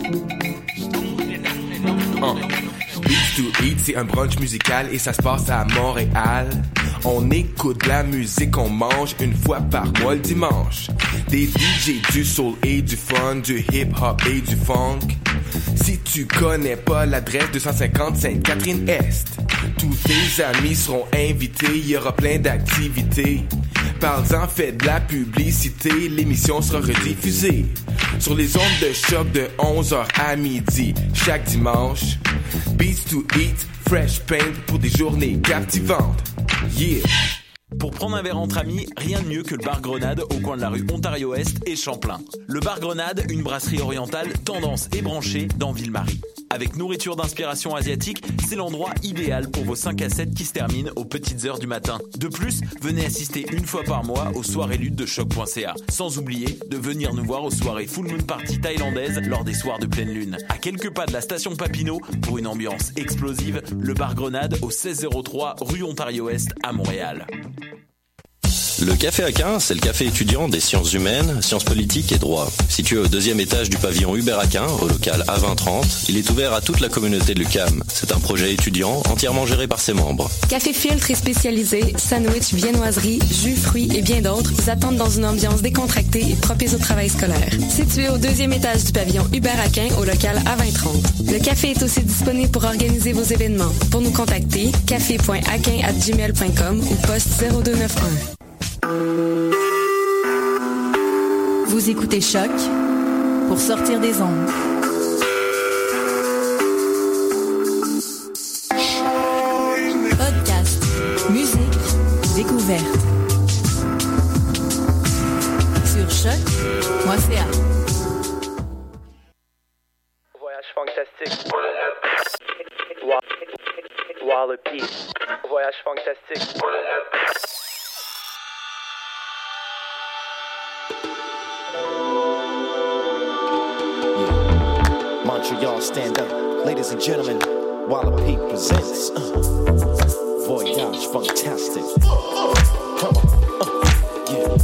Beats to Eat, c'est un brunch musical et ça se passe à Montréal. On écoute de la musique, on mange une fois par mois le dimanche. Des DJ, du soul et du fun, du hip-hop et du funk. Si tu connais pas l'adresse 250 Sainte-Catherine-Est, tous tes amis seront invités, il y aura plein d'activités. Parle-en, fais de la publicité, l'émission sera rediffusée sur les ondes de choc de 11h à midi chaque dimanche. Beats to Eat, fresh paint pour des journées captivantes. Yeah! Pour prendre un verre entre amis, rien de mieux que le bar Grenade au coin de la rue Ontario-Est et Champlain. Le bar Grenade, une brasserie orientale tendance et branchée dans Ville-Marie. Avec nourriture d'inspiration asiatique, c'est l'endroit idéal pour vos 5 à 7 qui se terminent aux petites heures du matin. De plus, venez assister une fois par mois aux soirées luttes de choc.ca. Sans oublier de venir nous voir aux soirées Full Moon Party thaïlandaises lors des soirs de pleine lune. À quelques pas de la station Papineau, pour une ambiance explosive, le bar Grenade au 1603 rue Ontario-Est à Montréal. Le Café Aquin, c'est le café étudiant des sciences humaines, sciences politiques et droit. Situé au 2e étage du pavillon Hubert Aquin, au local A2030, il est ouvert à toute la communauté de l'UQAM. C'est un projet étudiant entièrement géré par ses membres. Café filtre et spécialisé, sandwich, viennoiserie, jus, fruits et bien d'autres vous attendent dans une ambiance décontractée et propice au travail scolaire. Situé au 2e étage du pavillon Hubert Aquin, au local A2030. Le café est aussi disponible pour organiser vos événements. Pour nous contacter, café.aquin@gmail.com ou poste 0291. Vous écoutez Choc pour sortir des ondes. Podcast, musique, découverte. Sur choc.ca. Voyage fantastique. Wallopy. Voyage fantastique. Montreal, stand up. Ladies and gentlemen, Wallopy presents Voyage Fantastic. Come on, yeah.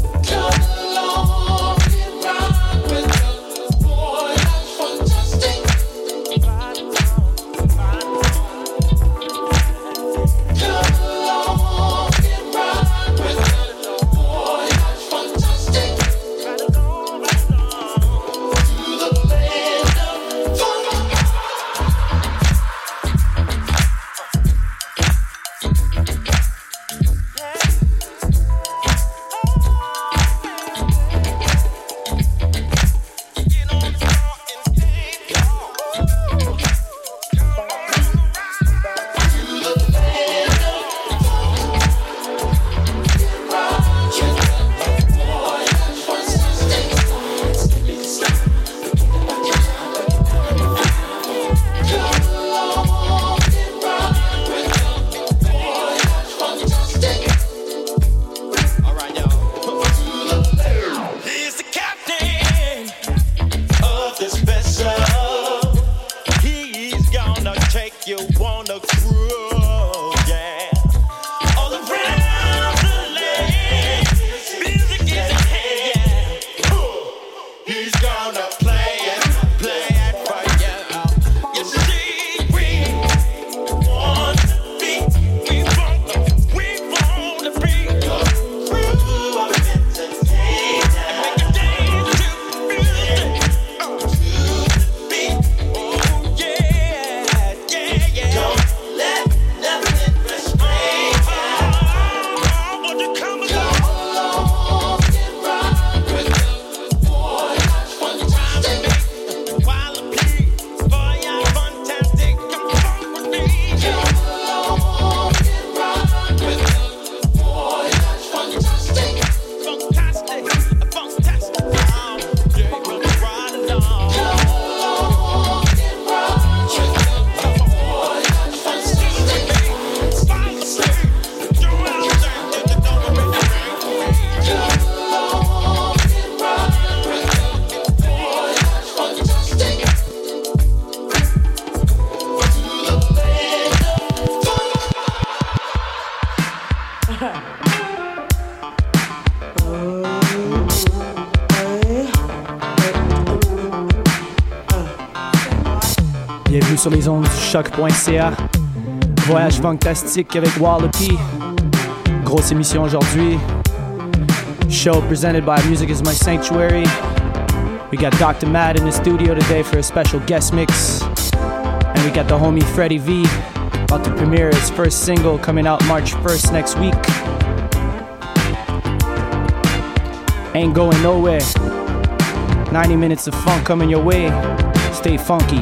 Bienvenue sur les ondes du choc.ca. Voyage fantastique avec Wallopy. Grosse émission aujourd'hui. Show presented by Music is My Sanctuary. We got Dr. Matt in the studio today for a special guest mix. And we got the homie Freddie V about to premiere his first single coming out March 1st next week. Ain't going nowhere. 90 minutes of funk coming your way. Stay funky.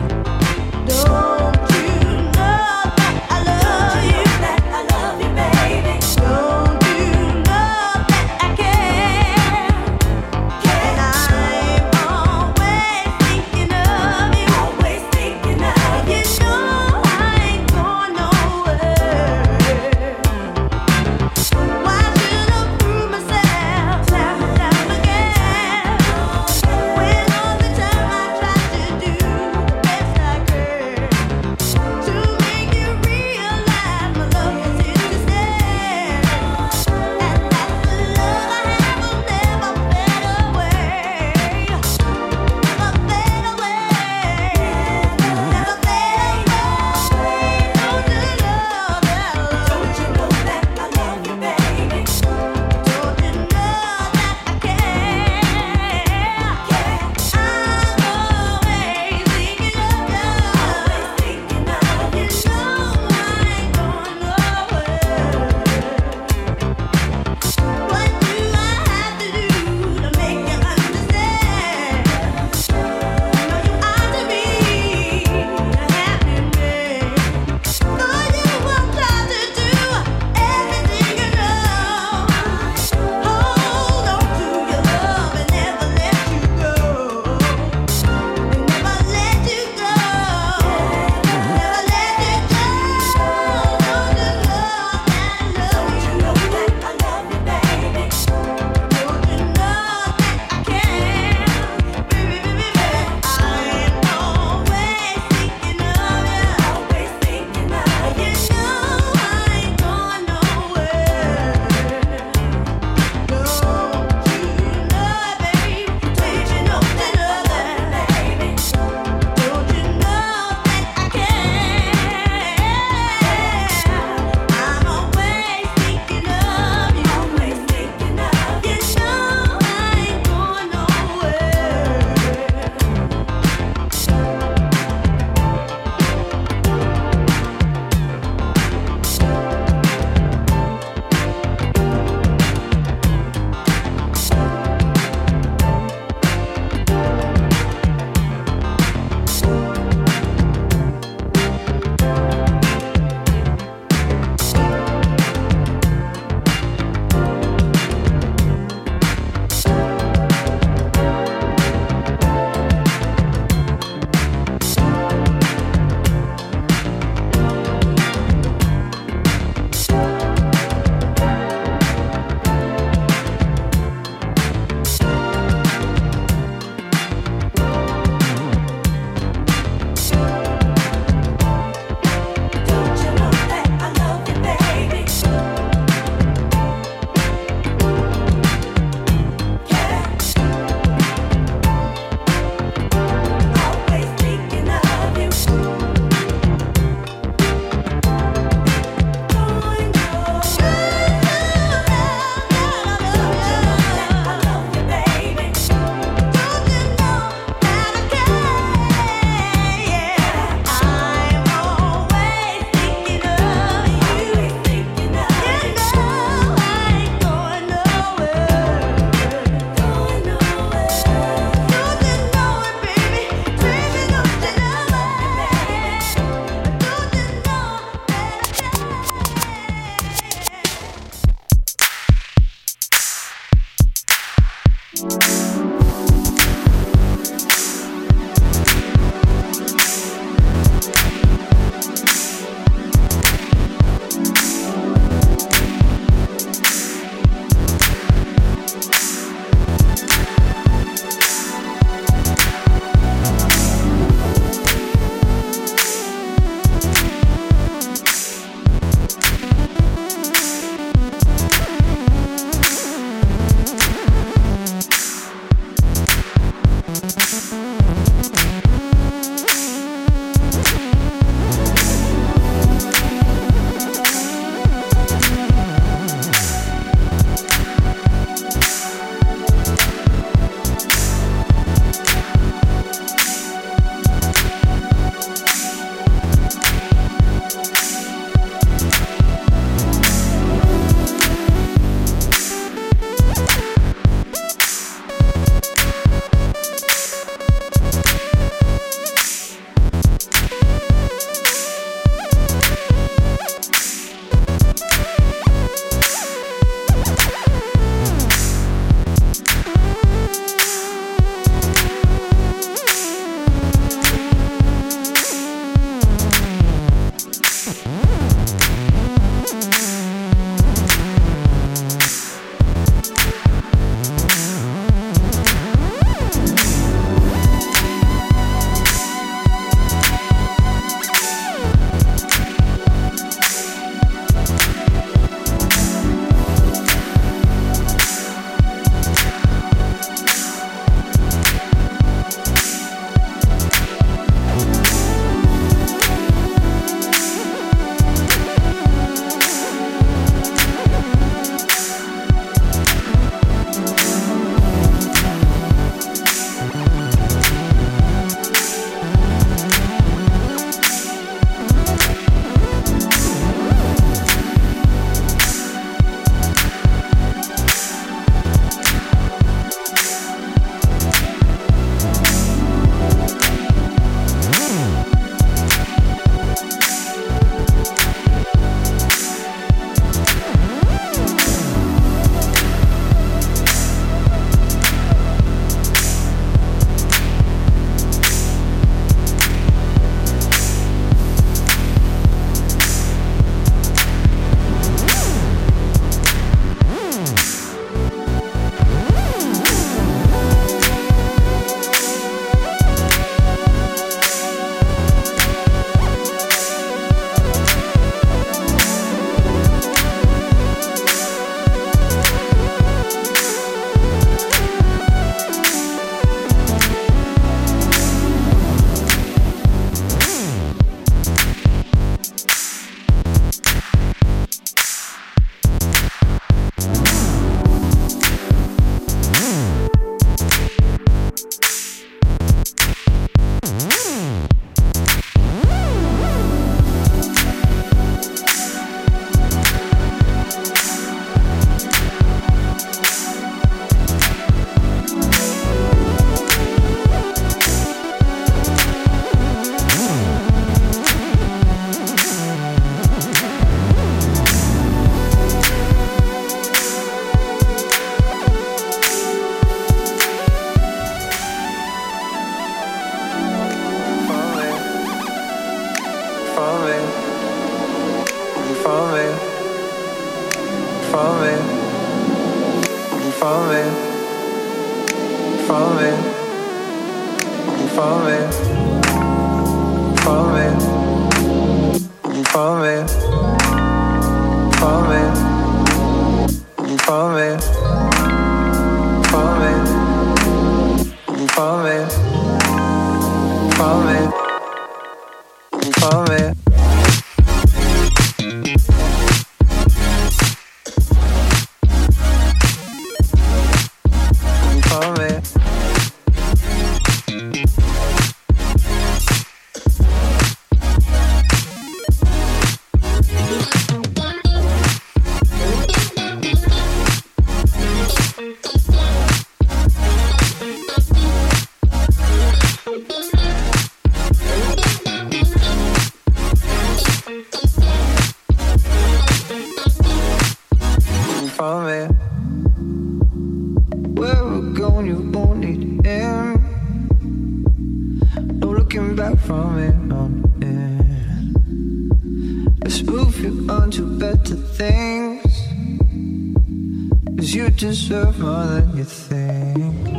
Deserve more than you think.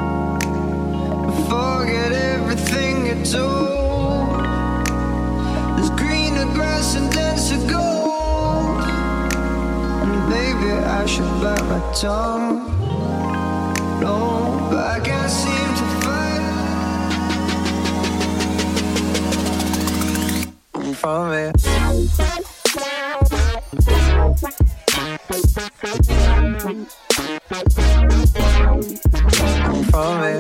Forget everything you told. There's greener grass and denser gold. And maybe I should bite my tongue. No, but I can't seem to find. Follow me. Follow me.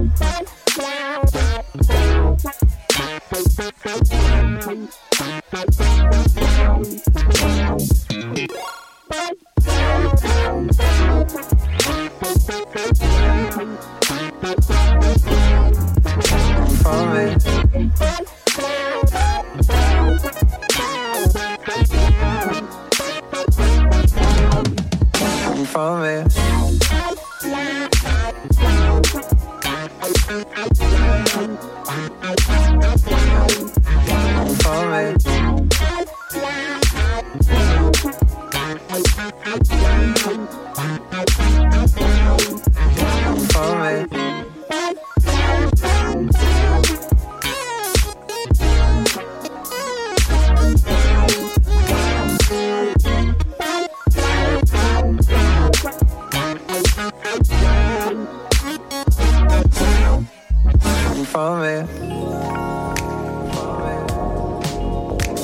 Follow me. Follow me. Follow me.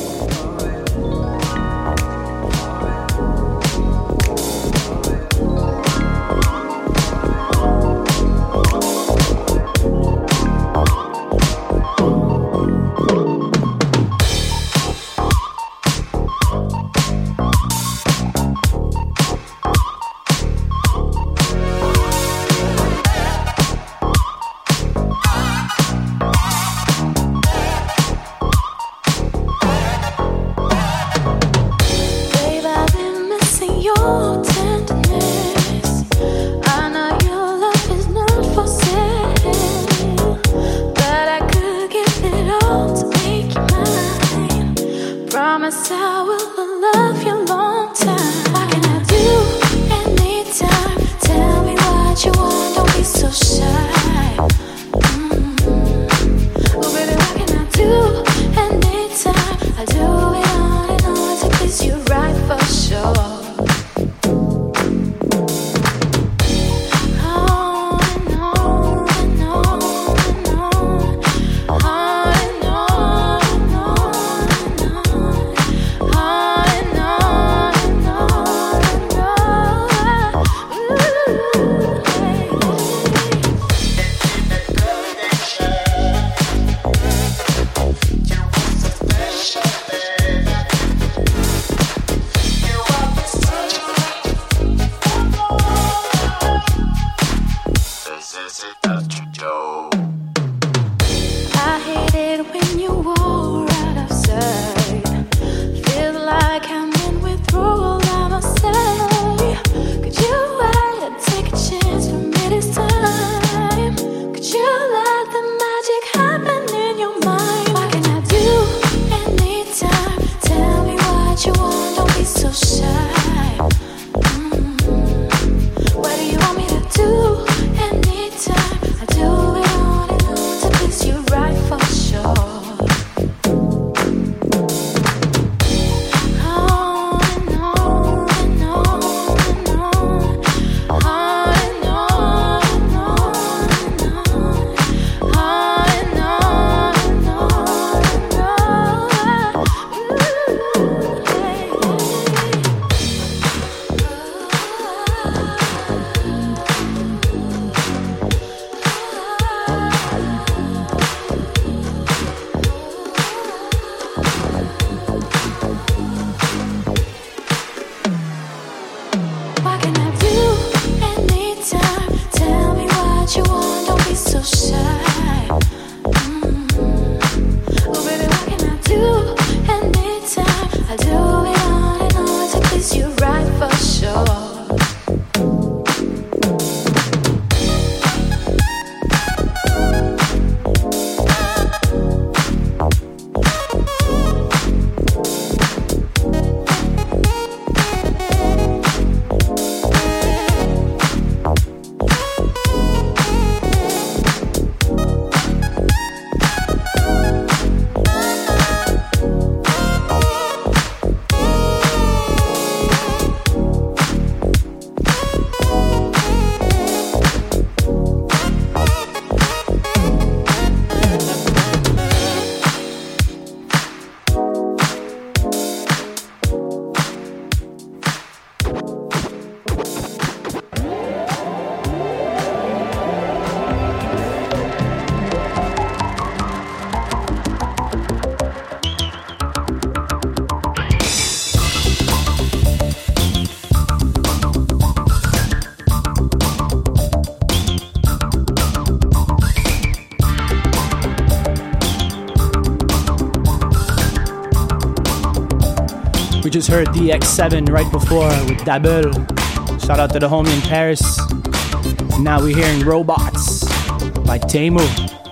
We just heard DX7 right before with Dabel. Shout out to the homie in Paris. Now we're hearing Robots by Temu.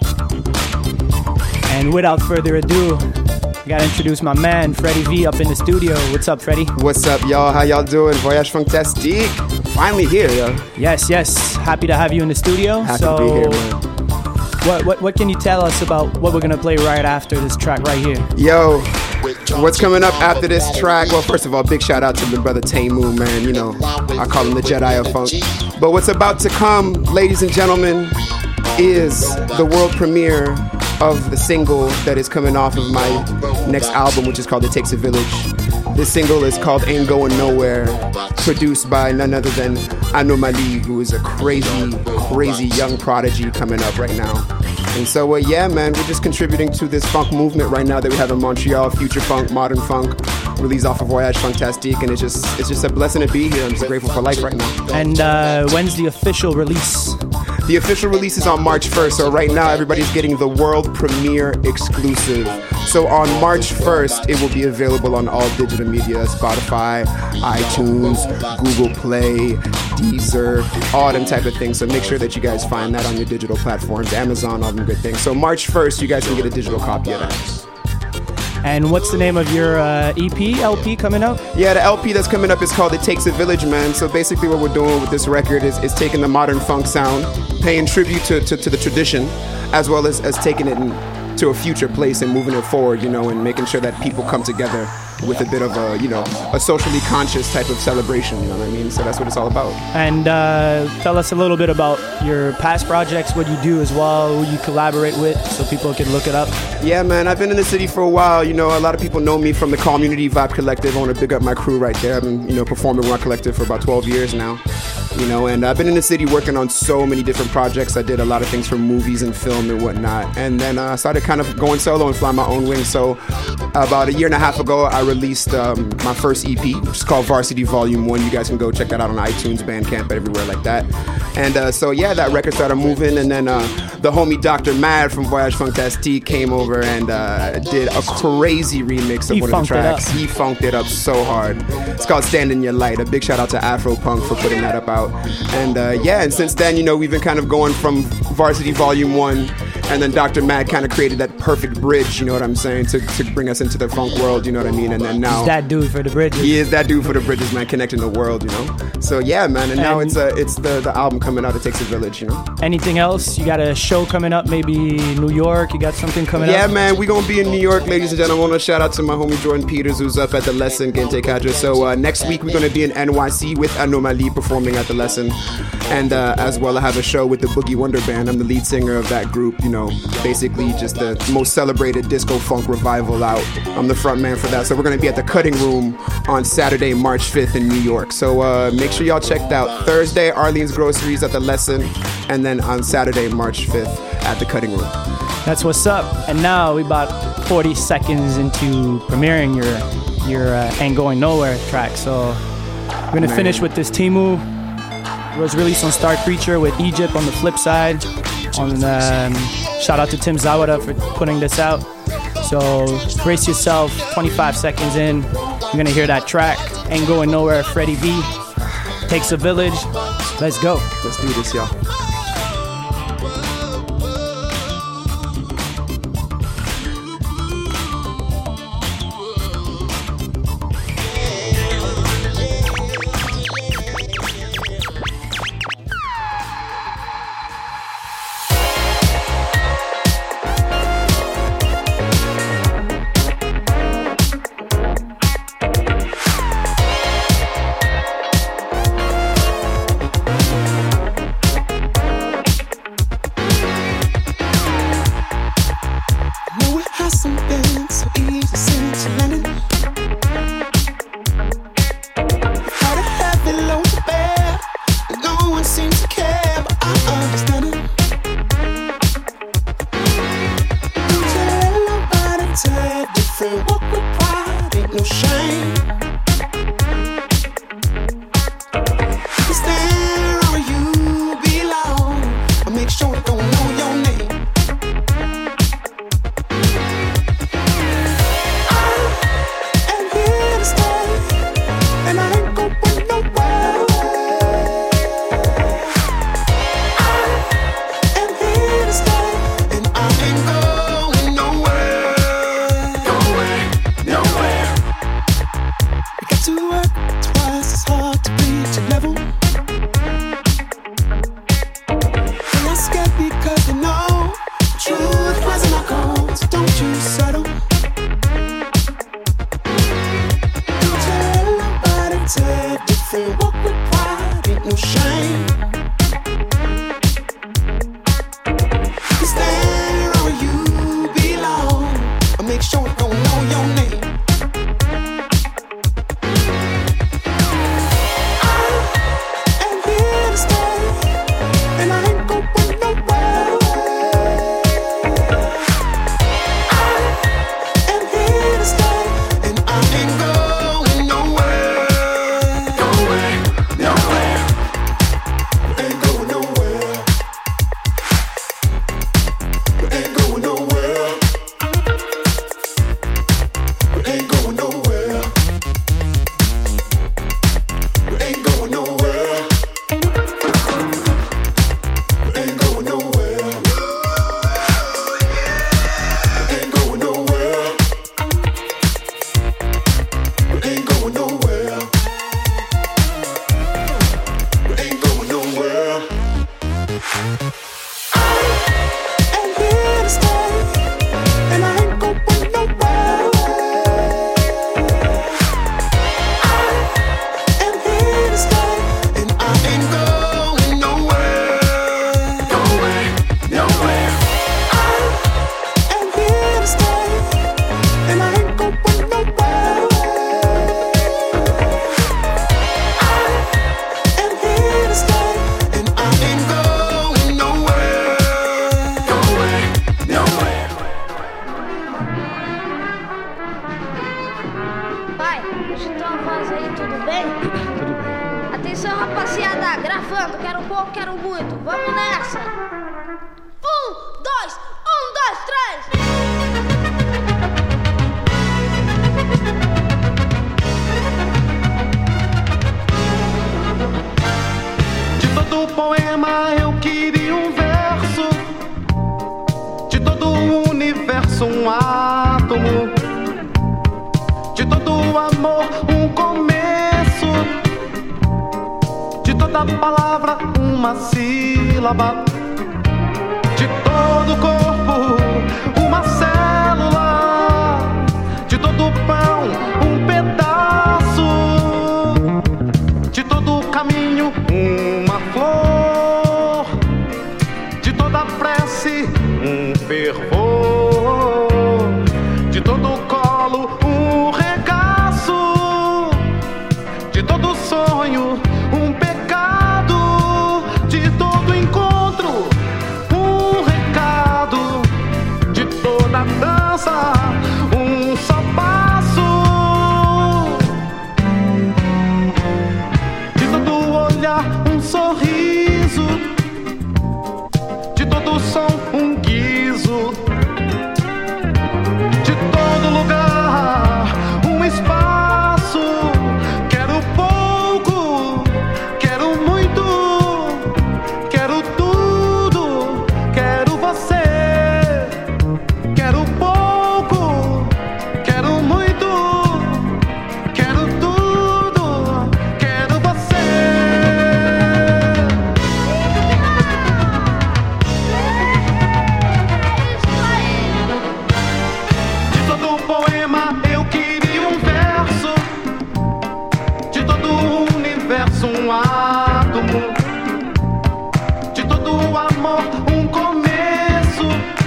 And without further ado, I gotta introduce my man, Freddie V, up in the studio. What's up, Freddie? What's up, y'all? How y'all doing? Voyage Fantastique. Finally here, yo. Yes. Happy to have you in the studio. Happy to be here, man. What can you tell us about what we're gonna play right after this track right here? Yo, what's coming up after this track? Well, first of all, big shout out to my brother Temu, man. You know, I call him the Jedi of Funk. But what's about to come, ladies and gentlemen, is the world premiere of the single that is coming off of my next album, which is called It Takes a Village. This single is called Ain't Going Nowhere, produced by none other than Anomaly, who is a crazy young prodigy coming up right now. And so, yeah, man, we're just contributing to this funk movement right now that we have in Montreal, future funk, modern funk, released off of Voyage Fantastique, and it's just a blessing to be here. I'm just grateful for life right now. And when's the official release? The official release is on March 1st, so right now everybody's getting the world premiere exclusive. So on March 1st, it will be available on all digital media, Spotify, iTunes, Google Play, Deezer, all them type of things. So make sure that you guys find that on your digital platforms, Amazon, all them good things. So March 1st, you guys can get a digital copy of that. And what's the name of your EP, LP coming out? Yeah, the LP that's coming up is called It Takes a Village, man. So basically what we're doing with this record is taking the modern funk sound, paying tribute to the tradition, as well as taking it to a future place and moving it forward, you know, and making sure that people come together with a bit of a, you know, a socially conscious type of celebration, you know what I mean? So that's what it's all about. And tell us a little bit about your past projects, what you do as well, who you collaborate with, so people can look it up. Yeah, man, I've been in the city for a while. You know, a lot of people know me from the Community Vibe Collective. I want to big up my crew right there. I've been, you know, performing with my collective for about 12 years now. You know, and I've been in the city working on so many different projects. I did a lot of things from movies and film and whatnot. And then I started kind of going solo and flying my own wings. So about a year and a half ago, I released my first EP, which is called Varsity Volume 1. You guys can go check that out on iTunes, Bandcamp, everywhere like that. And so, yeah, that record started moving. And then the homie Dr. Mad from Voyage Fantastique came over and did a crazy remix of one of the tracks. He funked it up so hard. It's called Stand in Your Light. A big shout out to Afropunk for putting that up out. And yeah, and since then, you know, we've been kind of going from Varsity Volume 1, and then Dr. Mad kind of created that perfect bridge, you know what I'm saying, to bring us into the funk world, you know what I mean? And then now... He's that dude for the bridges. He is that dude for the bridges, man, connecting the world, you know? So yeah, man, and now it's the album coming out, It Takes a Village, you know? Anything else? You got a show coming up, maybe New York? You got something coming up? Yeah, man, we gonna be in New York, ladies and gentlemen. I want to shout out to my homie Jordan Peters, who's up at The Lesson, Gente Cadre. So next week, we're gonna be in NYC with Anomaly performing at The Lesson. And as well, I have a show with the Boogie Wonder Band. I'm the lead singer of that group, you know, basically just the most celebrated disco funk revival out. I'm the front man for that. So we're going to be at the Cutting Room on Saturday, March 5th in New York. So make sure y'all check that out. Thursday, Arlene's Groceries at The Lesson. And then on Saturday, March 5th at the Cutting Room. That's what's up. And now we about 40 seconds into premiering your Ain't Going Nowhere track. So we're going to finish with this Temu. It was released on Star Creature with Egypt on the flip side. Shout out to Tim Zawada for putting this out. So brace yourself, 25 seconds in, you're gonna hear that track, Ain't Going Nowhere, Freddie V. Takes a Village. Let's go. Let's do this, y'all. Stay agitou a voz aí, tudo bem? Tudo bem. Atenção, rapaziada, gravando, quero pouco, quero muito, vamos nessa! 1, 2, 1, 2, 3! De todo poema eu queria um verso, de todo o universo um átomo, de todo amor um começo, de toda palavra uma sílaba, de todo corpo uma célula, de todo pão um pedaço, de todo caminho uma flor, de toda prece um fervor, de todo colo um regaço, de todo sonho um pecado, de todo encontro um recado, de toda dança um só passo, de todo olhar um sorriso, de todo som um guizo, de todo lugar um espaço. Quero pouco, quero muito, quero tudo, quero você. Quero pouco, quero muito, quero tudo, quero você. De todo poema eu queria um verso, de todo o universo um átomo, de todo o amor um começo,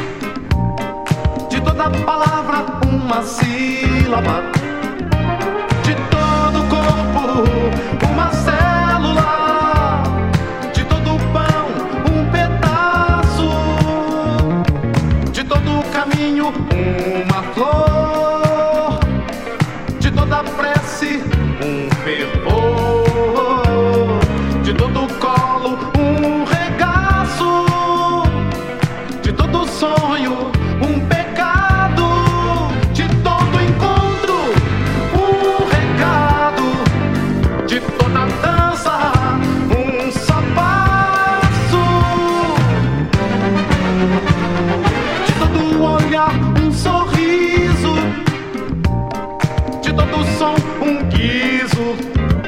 de toda palavra uma sílaba, de todo corpo uma célula, de todo pão um pedaço, de todo caminho uma flor, de toda prece um fervor, de todo colo um regaço, de todo sonho um pecado, de todo encontro um recado, de toda dança um só passo, de todo olhar um sorriso, de todo som um guizo,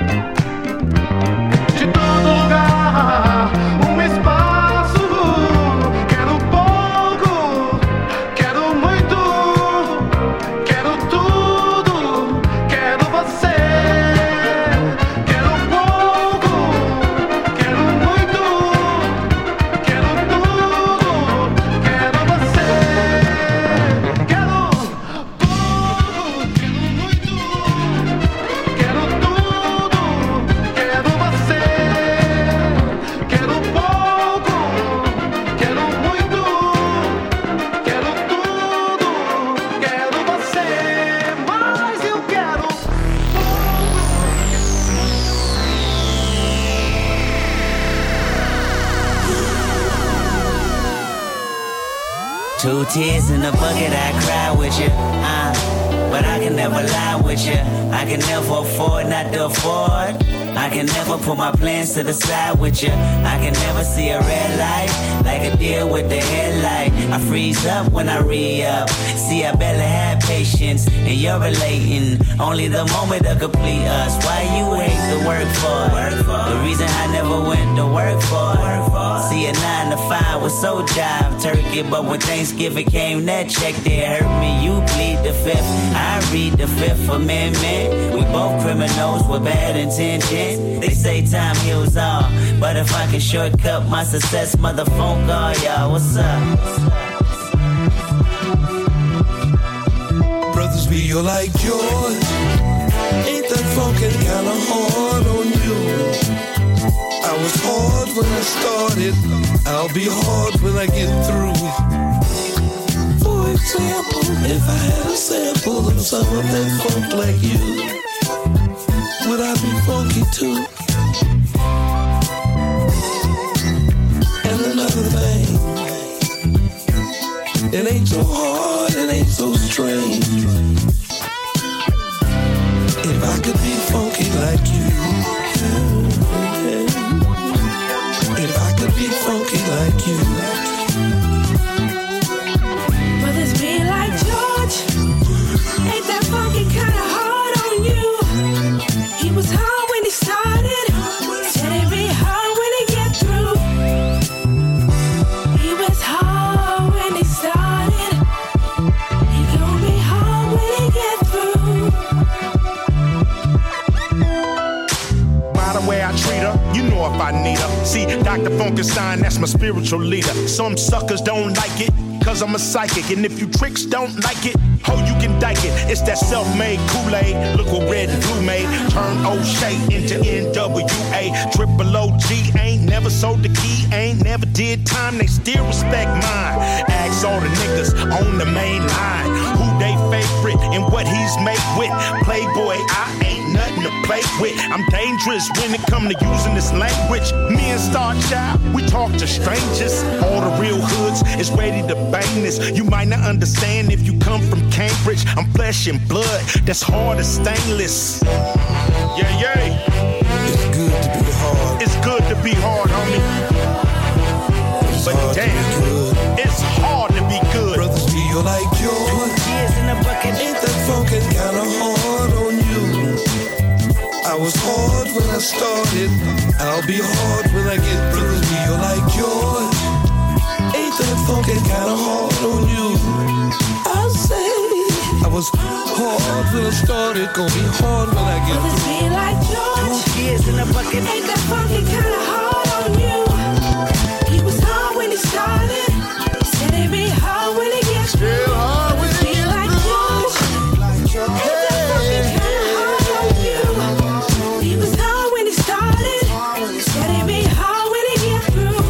de todo lugar um espaço. Quero pouco, quero muito, quero tudo, quero você. Quero pouco, quero muito, quero tudo, quero você. Quero pouco, quero muito, quero tudo, quero você. Quero pouco, quero muito, quero tudo, quero você. Mas eu quero Two tears in a bucket, I cry with you. But I can never lie with you. I can never afford not to afford. I can never put my plans to the side with you. I can never see a red light like a deer with the headlight. I freeze up when I re-up. See, I barely had patience, and you're relating. Only the moment to complete us. Why you hate the work for? The reason I never went to work for. See, a 9 to 5 was so jive turkey, but when Thanksgiving came, that check there hurt me. You plead the fifth, I read the Fifth Amendment. We both criminals with bad intentions. They say time heals all, but if I can shortcut my success, motherfucker, call y'all. What's up? Brothers be like yours. Ain't that fucking kinda hard on you? I was hard when I started, I'll be hard when I get through. For example, if I had a sample of some of that funk like you, would I be funky too? And another thing, it ain't so hard, it ain't so strange. If I could be funky like you, if I could be funky like you. Brothers be like George, ain't that funky kinda hard on you? He was hard when he started, said it'd be hard when he get through. He was hard when he started, he gon' be hard when he get through. By the way I treat her, you know if I need her. See, Dr. Funkenstein, that's my spiritual leader. Some suckers don't like it, cause I'm a psychic. And if you tricks don't like it, ho, you can dike it. It's that self-made Kool-Aid. Look what red and blue made. Turn O'Shea into NWA. Triple OG ain't never sold the key, ain't never did time. They still respect mine. Ask all the niggas on the main line who they favorite and what he's made with. Playboy, I ain't nothing to play with. I'm dangerous when it come to using this language. Me and Star Child, we talk to strangers. All the real hoods is ready to bang this. You might not understand if you come from Cambridge. I'm flesh and blood, that's hard as stainless. Yeah, yeah. It's good to be hard. It's good to be hard, homie. But damn, it's hard to be good. Brothers feel like yours. Ain't that funkin' kinda hard on you? I was hard when I started, I'll be hard when I get through. Feel like yours. Ain't that funkin' kinda hard on you? I say I was hard when I started, gonna be hard when I get through. Brothers be like George, 2 years in a bucket. Ain't that funky kinda hard on you? He was hard when he started, said it'd be hard when he gets through. Brothers be like George, ain't that funky kinda hard on you? He was hard when he started, said it'd be hard when he gets through.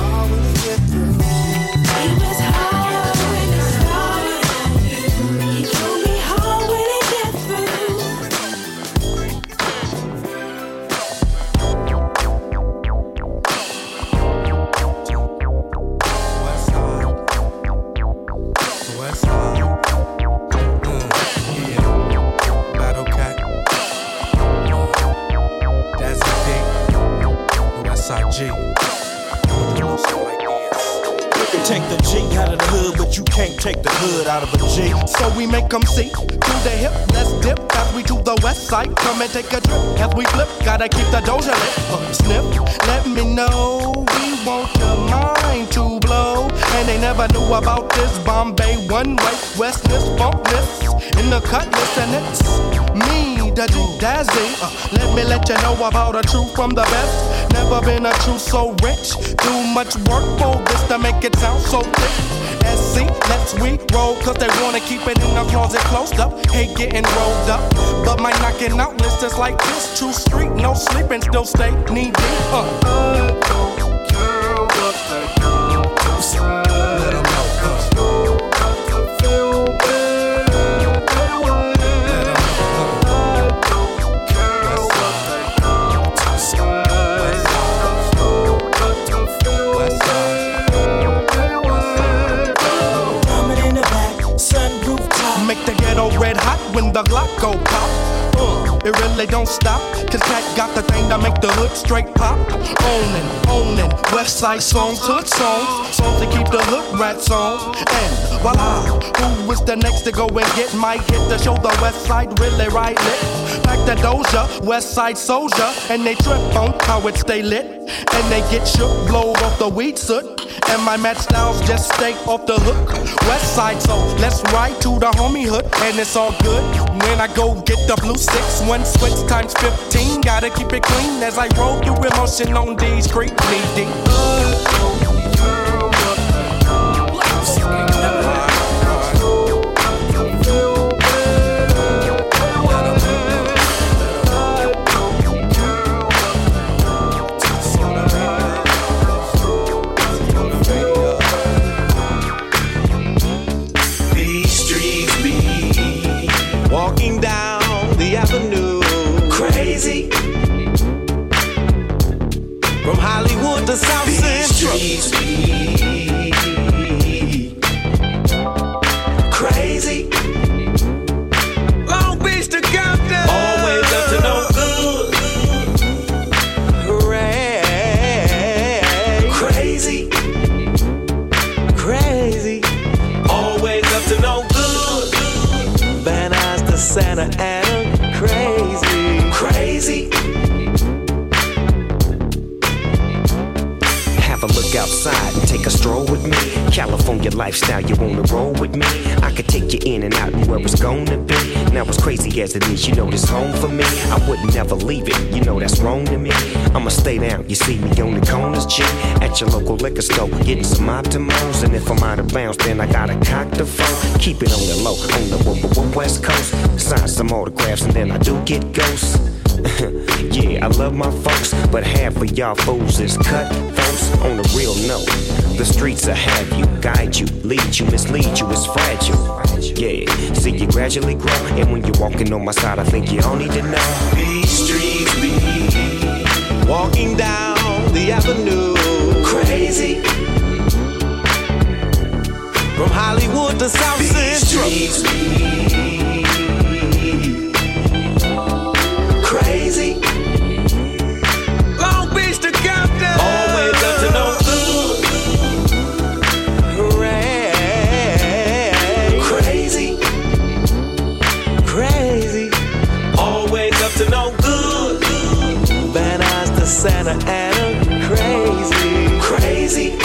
He was hard when he started, he gon' be hard when he gets through. West Side. Yeah. Battle Cat. That's a D. West Side G. You can take the G out of the hood, but you can't take the hood out of a G. So we make them see to the hip, let's dip as we to the west side. Come and take a trip as we flip. Gotta keep the doja lit. Snip, let me know we want your mind to blow. And they never knew about this Bombay one-way westness, funkness in the cutlass, and it's me, the G-Dazzy. Let you know about a truth from the best. Never been a truth so rich. Too much work for this to make it sound so thick. SC, let's we roll, cause they wanna keep it in the closet closed up. Hate getting rolled up, but my knocking out list is like this. True street, no sleeping, still stay knee deep. Let 'em know, Make the ghetto red hot when the Glock go pop. It really don't stop, cause Cat got the thing that make the hood straight pop. Ownin', West Side songs, hood songs, songs to keep the hood rats on. And voila, who was the next to go and get my hit to show the West Side really right lit? Like the Doja, West Side soldier, and they trip on how it stay lit. And they get shook, blow off the weed soot. And my match styles just stay off the hook. West Side, so let's ride to the homie hood, and it's all good. When I go get the blue 6-1 switch times 15, gotta keep it clean as I roll through emotion on these street bleeding. Walking down the avenue, crazy. Santa Ana crazy. Crazy. Have a look outside and take a stroll with me. California lifestyle, you wanna roll with me? I could take you in and out and where it's gonna be. Now as crazy as it is, you know this home for me. I would never leave it, you know that's wrong to me. I'ma stay down, you see me on the corners, G. At your local liquor store, getting some Optimals. And if I'm out of bounds, then I gotta cock the phone. Keep it on the low, on the west coast. Sign some autographs and then I do get ghosts. Yeah, I love my folks, but half of y'all fools is cut folks. On the real note, the streets will have you, guide you, lead you, mislead you, it's fragile. Yeah, see you gradually grow, and when you're walking on my side, I think you all need to know. These streets be walking down the avenue. Crazy. From Hollywood to South Central. These streets be crazy. Long Beach to Compton. Always up to no good. Crazy. Crazy. Always up to no good. Van Nuys to Santa Ana crazy. Crazy.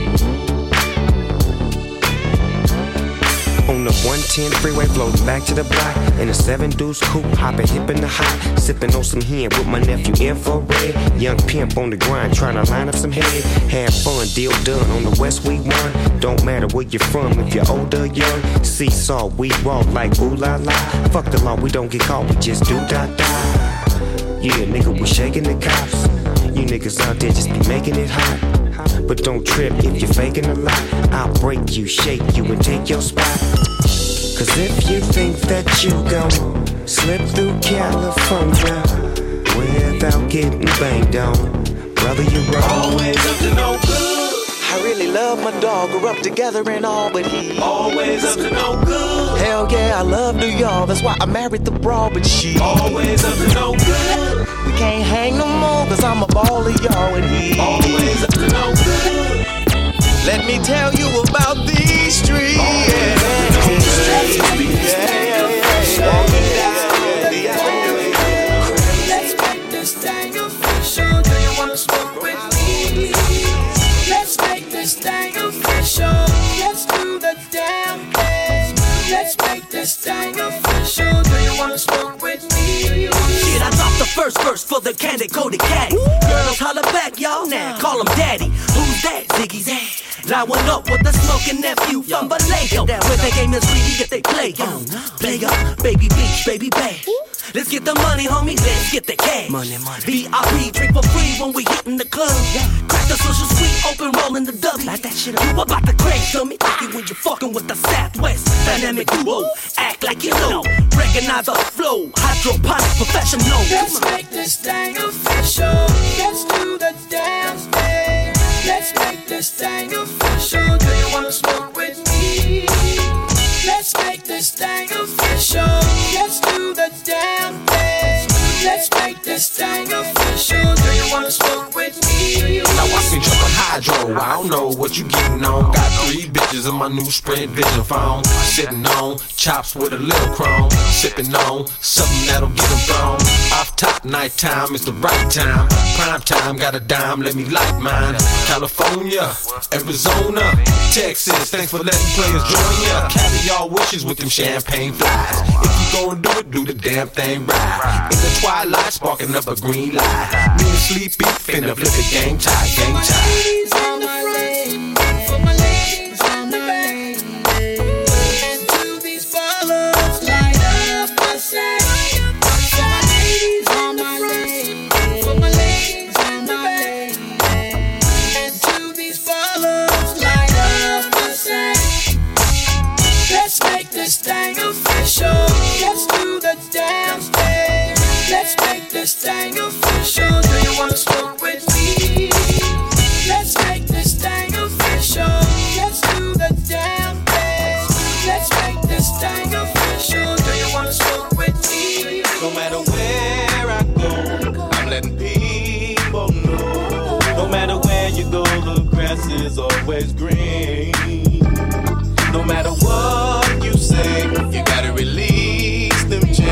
On the 110 freeway, floating back to the block. In a 7 deuce coupe, hopping hip in the hot. Sipping on some hen with my nephew Infrared. Young pimp on the grind, trying to line up some head. Have fun, deal done on the West we won. Don't matter where you're from, if you're older, young. Seesaw, we walk like ooh la la. Fuck the law, we don't get caught, we just do da da. Yeah, nigga, we shaking the cops. You niggas out there just be making it hot. But don't trip if you're faking a lot. I'll break you, shake you, and take your spot. Cause if you think that you gon' slip through California without getting banged on, brother, you're wrong. Always up to no good. I really love my dog, grew up together and all, but he always up to no good. Hell yeah, I love New York, that's why I married the broad, but she always up to no good. We can't hang no more, cause I'm a baller, y'all, and he always up to no good. Let me tell you about these streets. Let's make this thing official. Do you wanna smoke with me? Let's make this thing official. Let's do the damn thing. Let's make this thing official. Do you wanna smoke with me? Shit, I dropped the first verse for the candy-coated cat. Girls holler back, y'all now, call him daddy. Who's that? Ziggy's ass. Line one up with the smoking nephew from Vallejo, where the game is greedy, get they play on. Play up, baby beach, baby bash. Let's get the money, homie, let's get the cash. Money, money. VIP, drink for free when we hit in the club. Crack the social sweet, open, rollin' the W. Like that shit up. You about to crash on me, like it when you're fucking with the Southwest. Dynamic duo, act like you know. Recognize the flow, hydroponic professional. Let's make this thing official. Let's do the damn thing. Let's make this thing official. Do you wanna smoke with me? Let's make this thing official. Let's do the damn thing. Let's make this thing official. Do you wanna smoke with me? Now I see jumping hydro. I don't know what you getting on. Got 3 bitches in my new Sprint Vision phone. Sitting on chops with a little chrome. Sipping on something that'll get them thrown. Off top, nighttime is the right time. Prime time, got a dime, let me light mine. California, Arizona, Texas. Thanks for letting players join ya. Caviar wishes with them champagne flies. If you gon' do it, do the damn thing right. In the twilight, sparking up a green light. Me and Sleepy, finna flip it, gang tight, gang tight. Ladies on my lane, for my ladies on my lane. And to these ballers, light up my set. For my ladies on my lane, for my ladies on my lane. And to these ballers, light up my set. Let's make this thing official. Let's do the damn thing. Let's make this thing official. Do you wanna smoke with me? Let's make this thing official. Let's do the damn thing. Let's make this thing official. Do you wanna smoke with me? No matter where I go, I'm letting people know. No matter where you go, the grass is always green. No matter what you say, you gotta release them chains.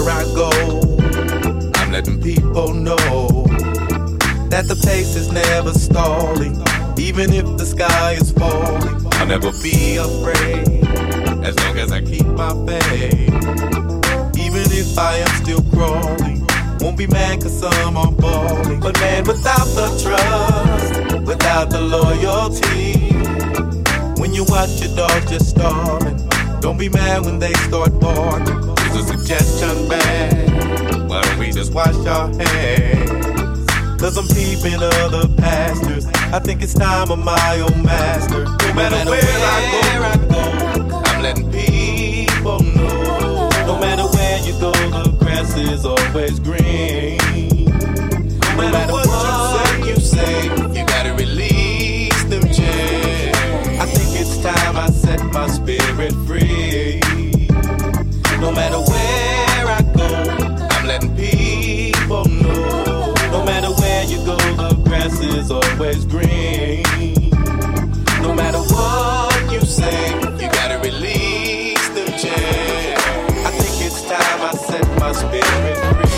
where I go, I'm letting people know that the pace is never stalling. Even if the sky is falling, I'll never be afraid, as long as I keep my faith. Even if I am still crawling, won't be mad cause some are falling. But man, without the trust, without the loyalty, when you watch your dog just starving, don't be mad when they start barking. It's a suggestion, man, why don't we just wash our hands? Cause I'm peeping other pastures. I think it's time of my own master. No matter where I go, I'm letting people know. No matter where you go, the grass is always green. No matter what you say, you gotta release them chains. I think it's time I set my spirit free. No matter where I go, I'm letting people know. No matter where you go, the grass is always green. No matter what you say, you gotta release them chains. I think it's time I set my spirit free.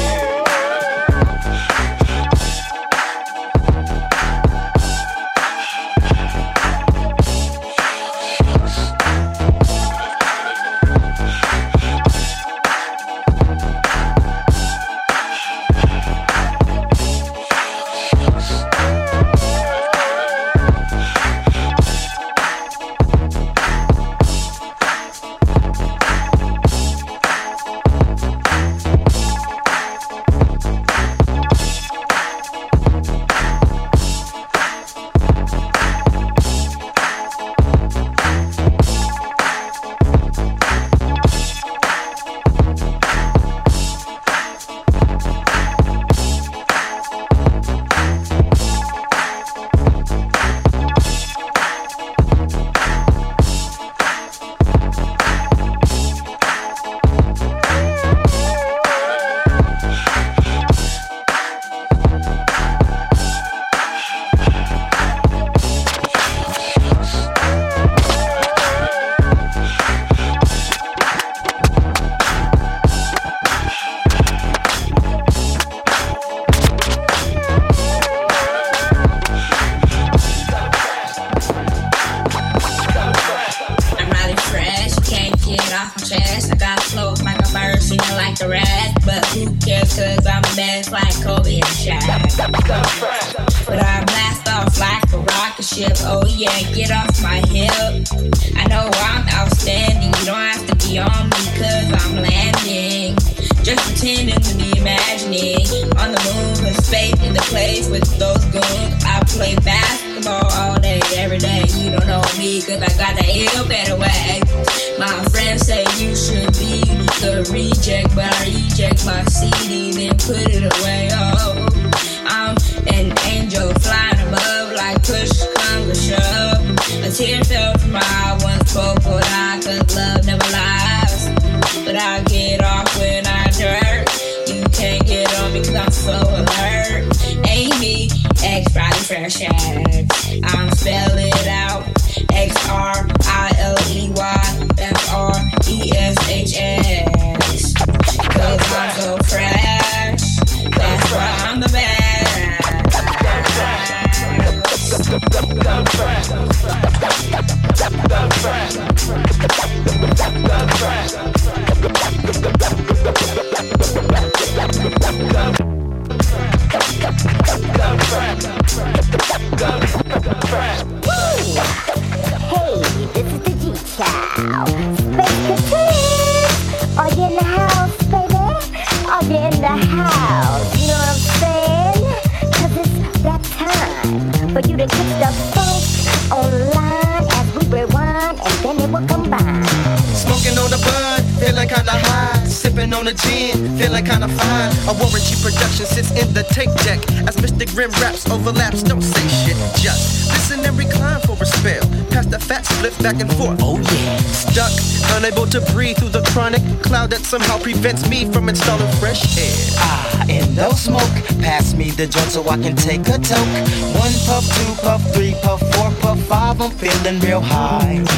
Overlaps, don't say shit, just listen and recline for a spell. Pass the fat split back and forth. Oh yeah. Stuck, unable to breathe through the chronic cloud that somehow prevents me from installing fresh air. And no smoke. Pass me the joint so I can take a toke. 1 puff, 2 puff, 3 puff, 4 puff, 5. I'm feeling real high.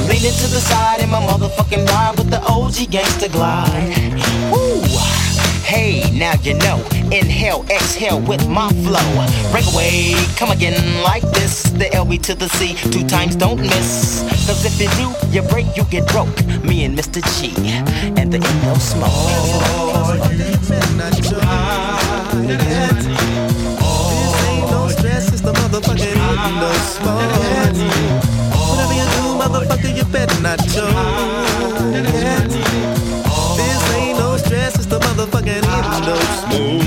Leaning to the side in my motherfucking ride with the OG gangsta glide. Woo! Hey, now you know. Inhale, exhale with my flow. Break away, come again like this. The LB to the C, 2 times don't miss. Cause if you do, you break, you get broke. Me and Mr. G and the Indo Smoke. Oh, you cannot join that. This ain't no stress, it's the motherfucking Indo Smoke. Whatever you do, motherfucker, you better not join that. This ain't no stress, it's the motherfucking Indo Smoke.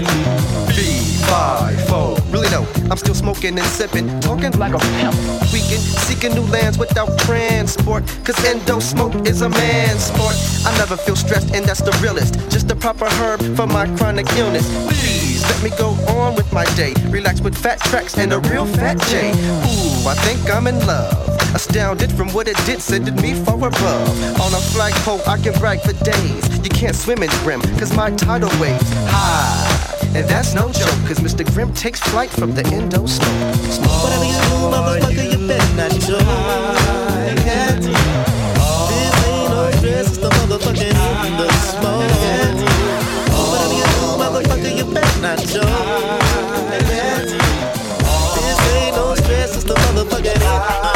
3-5-4. Really no, I'm still smoking and sipping, talking like a pimp. Weekend, seeking new lands without transport. Cause endo smoke is a man's sport. I never feel stressed and that's the realest. Just the proper herb for my chronic illness. Please let me go on with my day. Relax with fat tracks and a real fat J. Ooh, I think I'm in love. Astounded from what it did, sending me far above. On a flagpole, I can brag for days. You can't swim in Grim, cause my tidal waves high. And that's no joke, cause Mr. Grimm takes flight from the Indo Smoke. Whatever you do, motherfucker, you better not join that. This ain't no stress, it's the motherfucking Indo Smoke. Whatever you do, motherfucker, you better not join that. This ain't no stress, it's the motherfucking Indo Smoke.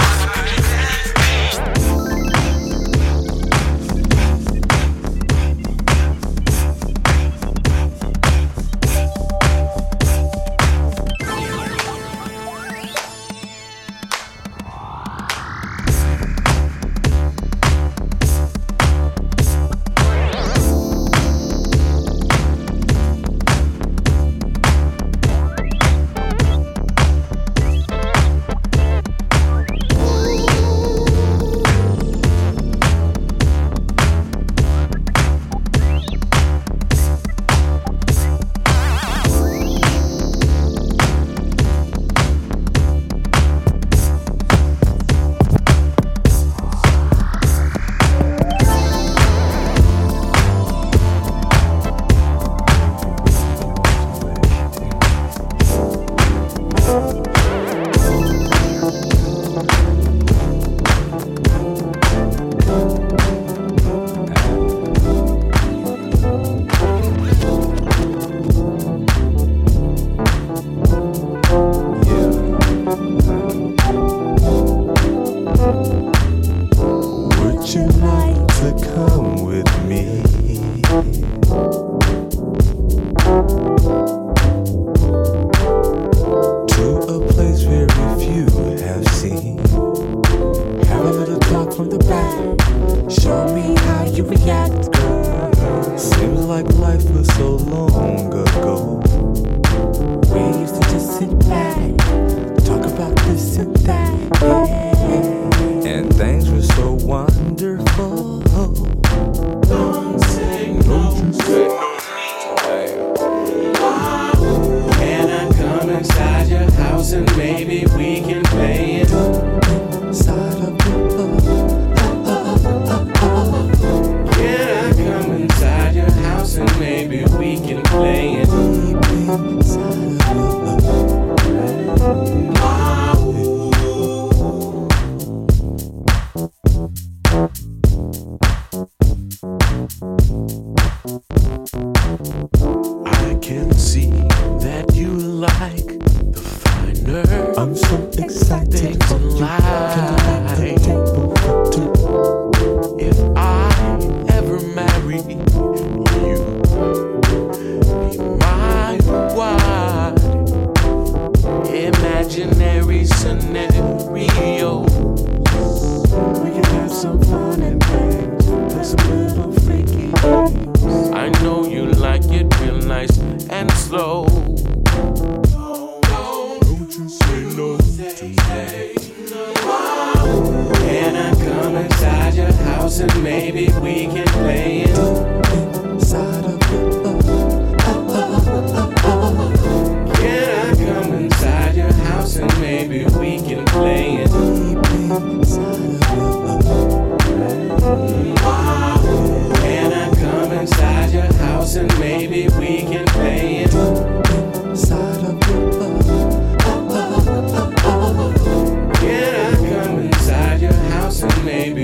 Maybe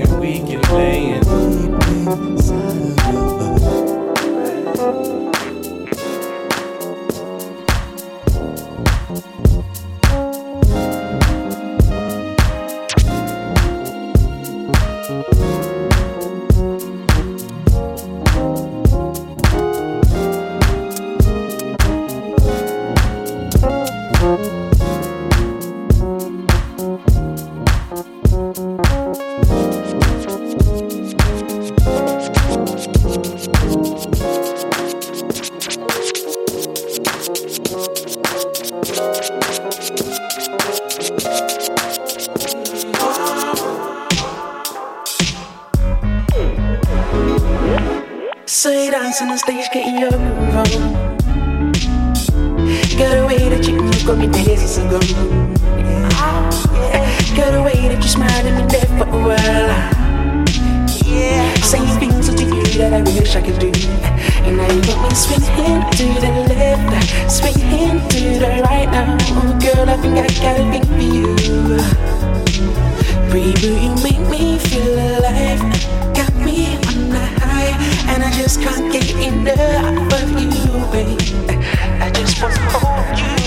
you dance on the stage, getting your groove on. Got a way that you got me dancing ago. Got a way that you smile at me there for a while. Saying things to you that I wish I could do. And now you got me swinging to the left, swinging to the right now. Oh girl, I think I got a thing for you. Baby, you make me feel alive. Got me on the high, and I just can't get enough of you, babe. I just wanna hold you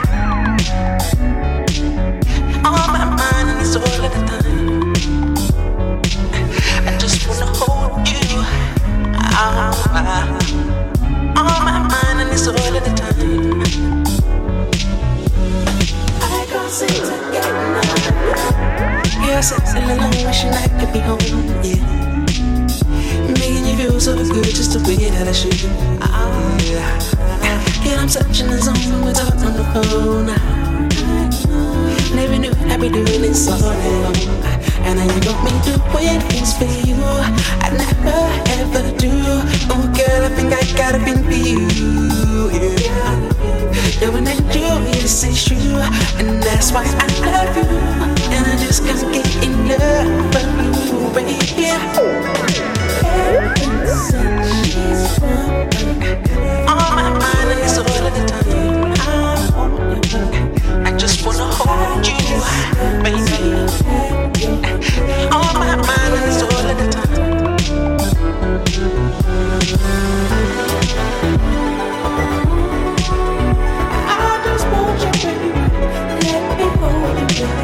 on my mind, and it's all of the time. I just wanna hold you on my mind, and it's all of the time. I can't seem to get enough. Yeah, I sit alone, wishing I could be home. Yeah, making you feel so good, just the way that I should. Yeah, I'm touching the zone, we're talking on the phone. Never knew I'd be doing this all day long. And now you got me doing things for you I never ever do. Oh girl, I think I got a thing for you. Yeah, you're an angel, yes it's true, and that's why I love you. And I just can't get enough of you, baby. On my mind and it's all of the time. I just wanna hold you, baby. On my mind and it's all of the time. I just want you, baby. Let me hold you, baby.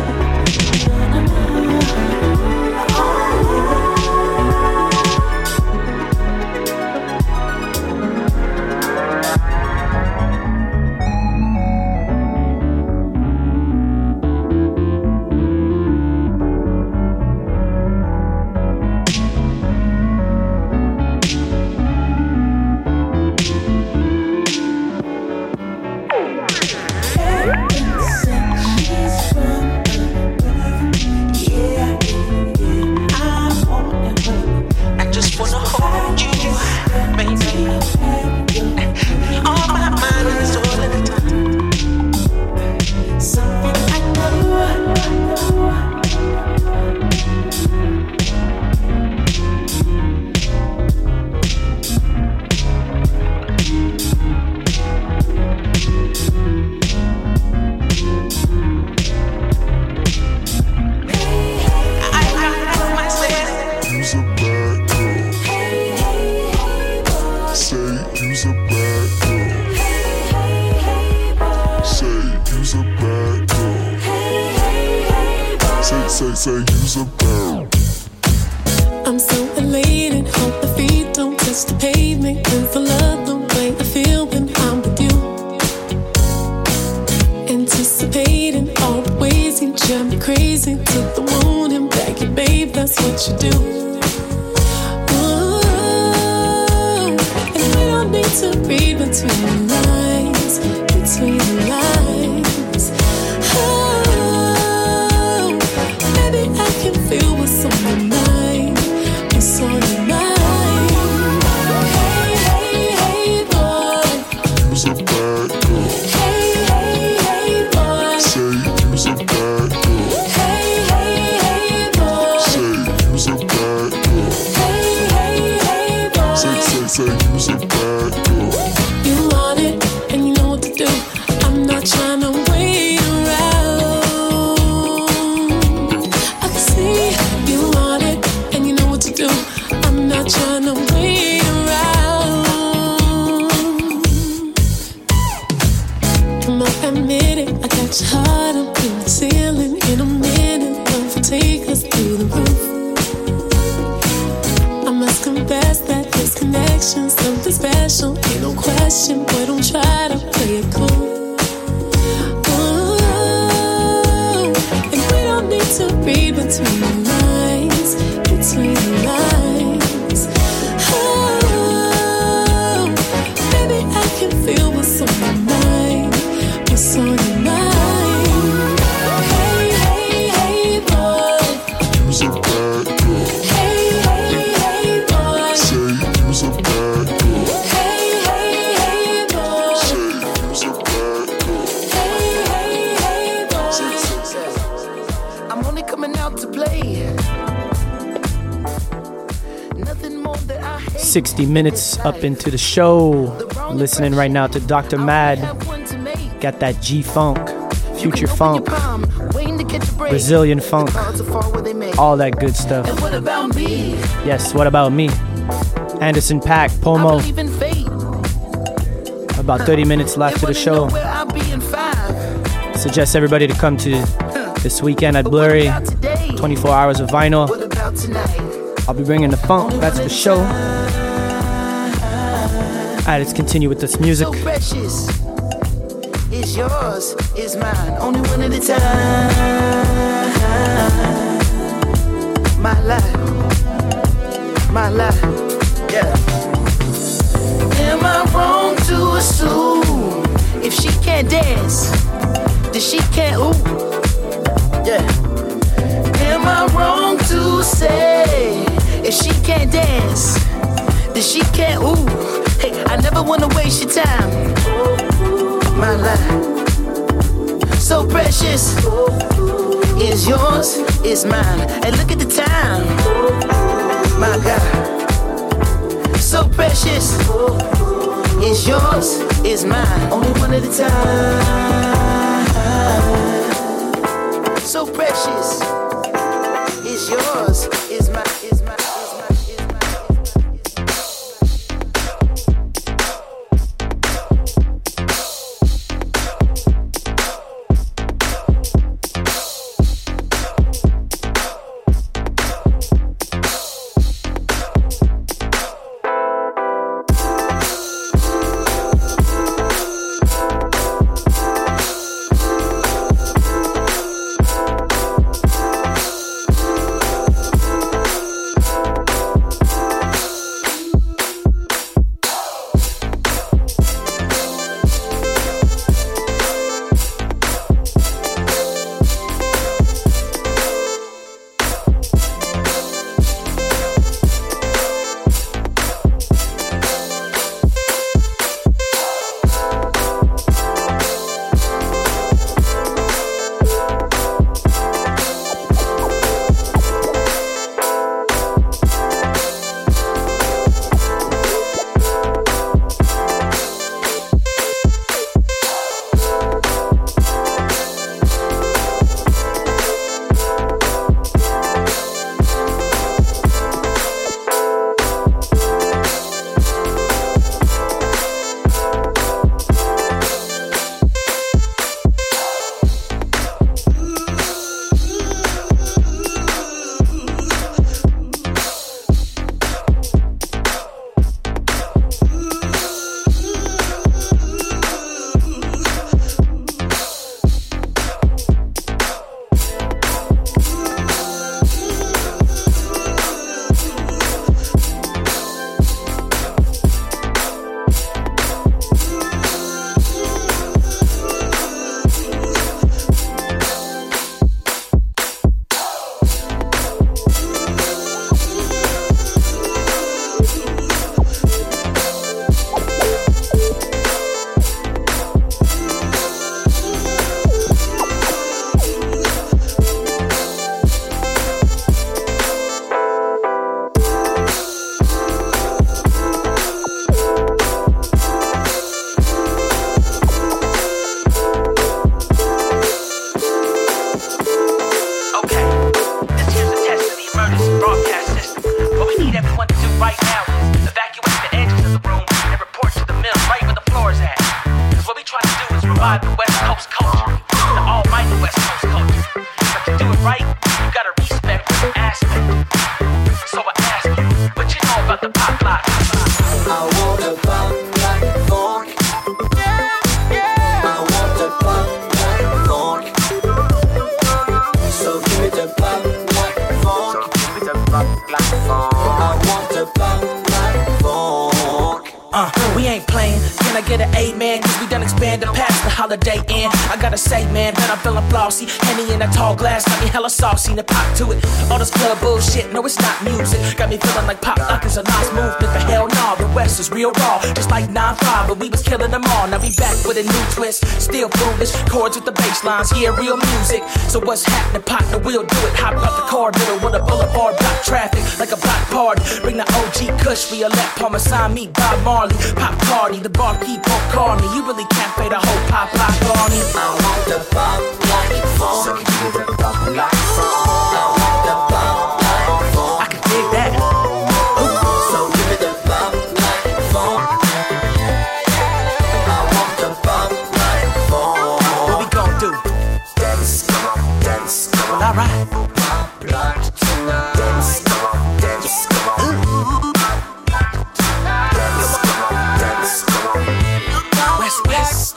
I'm so elated, hope the feet don't touch the pavement. Cause I love the way I feel when I'm with you. Anticipating all the ways you drive me crazy. To the moon and back, and babe, that's what you do. Ooh, and we don't need to read between the lines, between the lines. Oh, baby, I can feel what's on your mind. What's on your mind? Hey, hey, hey, boy. You's a bad girl. Hey, hey, hey, boy. Say you's a bad girl. Hey, hey, hey, boy. Say you's a bad girl. Hey, hey, hey, boy. Say you's a bad girl. You want it, and you know what to do. I'm not trying to wait around. I can see you want it, and you know what to do. I'm not trying to wait around. Come on, admit it, I got your heart up in the ceiling. In a minute, love will take us through the roof. I must confess that this connection's something special. Ain't no question, boy, don't try to play it cool. Ooh, and we don't need to read between the lines, between the lines. Oh, baby, I can feel what's on your mind, what's on your mind. Hey, hey, hey, boy. You's a bad girl. Hey, hey, hey, boy. Say you's a bad girl. I'm only coming out to play. Nothing more that I hate. 60 minutes up into the show. Listening right now to Dr. Mad. Got that G-Funk, Future Funk, Brazilian Funk, all that good stuff. And what about me? Yes, what about me? Anderson .Paak, Pomo. About 30 minutes left to the show. Suggest everybody to come to this weekend at Blurry. 24 hours of vinyl. I'll be bringing the funk. That's the show. Alright, let's continue with this music. So precious. It's yours, it's mine. Only one at a time. My life, yeah. Am I wrong to assume if she can't dance, then she can't ooh? Yeah. Am I wrong to say if she can't dance, then she can't ooh? Hey, I never wanna waste your time. My life, so precious. It's yours, it's mine. And look at the time. My God, so precious. It's yours, it's mine. Only one at a time. So precious. It's yours, it's mine, it's mine, it's mine, it's mine. revive the West Coast culture, the almighty West Coast culture. But to do it right, you gotta respect this aspect. So I ask you, what you know about the pop lock? I want a pop like funk. I want a pop like funk. So give me the pop like funk. Give me the pop like funk. I want a pop like funk. We ain't playing. Can I get an amen? Cause we done expanded past the Holiday Inn. I gotta say, man, that I'm feeling flossy. Henny in a tall glass, got me hella saucy. And pop to it. All this club bullshit, no, it's not music. Got me feeling like pop lock is a nice movement. But hell nah, the West is real raw. Just like 9-5, but we was killing them all. Now we back with a new twist. Still foolish, chords with the bass lines. Yeah, real music. So what's happening, partner? We'll do it. Hop out the car, middle with a boulevard, block traffic like a block party. Bring the OG Kush, Violette, Parmesan, me, Bob Marley. Pop party, the barkeep won't call me. You really can't pay the whole pop on me. I want the pop like phone. So give me the pop like phone. I want the pop like phone. I can dig that. So give me the pop like phone. I want the pop like phone. What we gon' do? Dance, come on, dance, come on. Well, alright. Pop like tonight. Dance, come on, dance, come on. Dance, come on, dance, come on. West.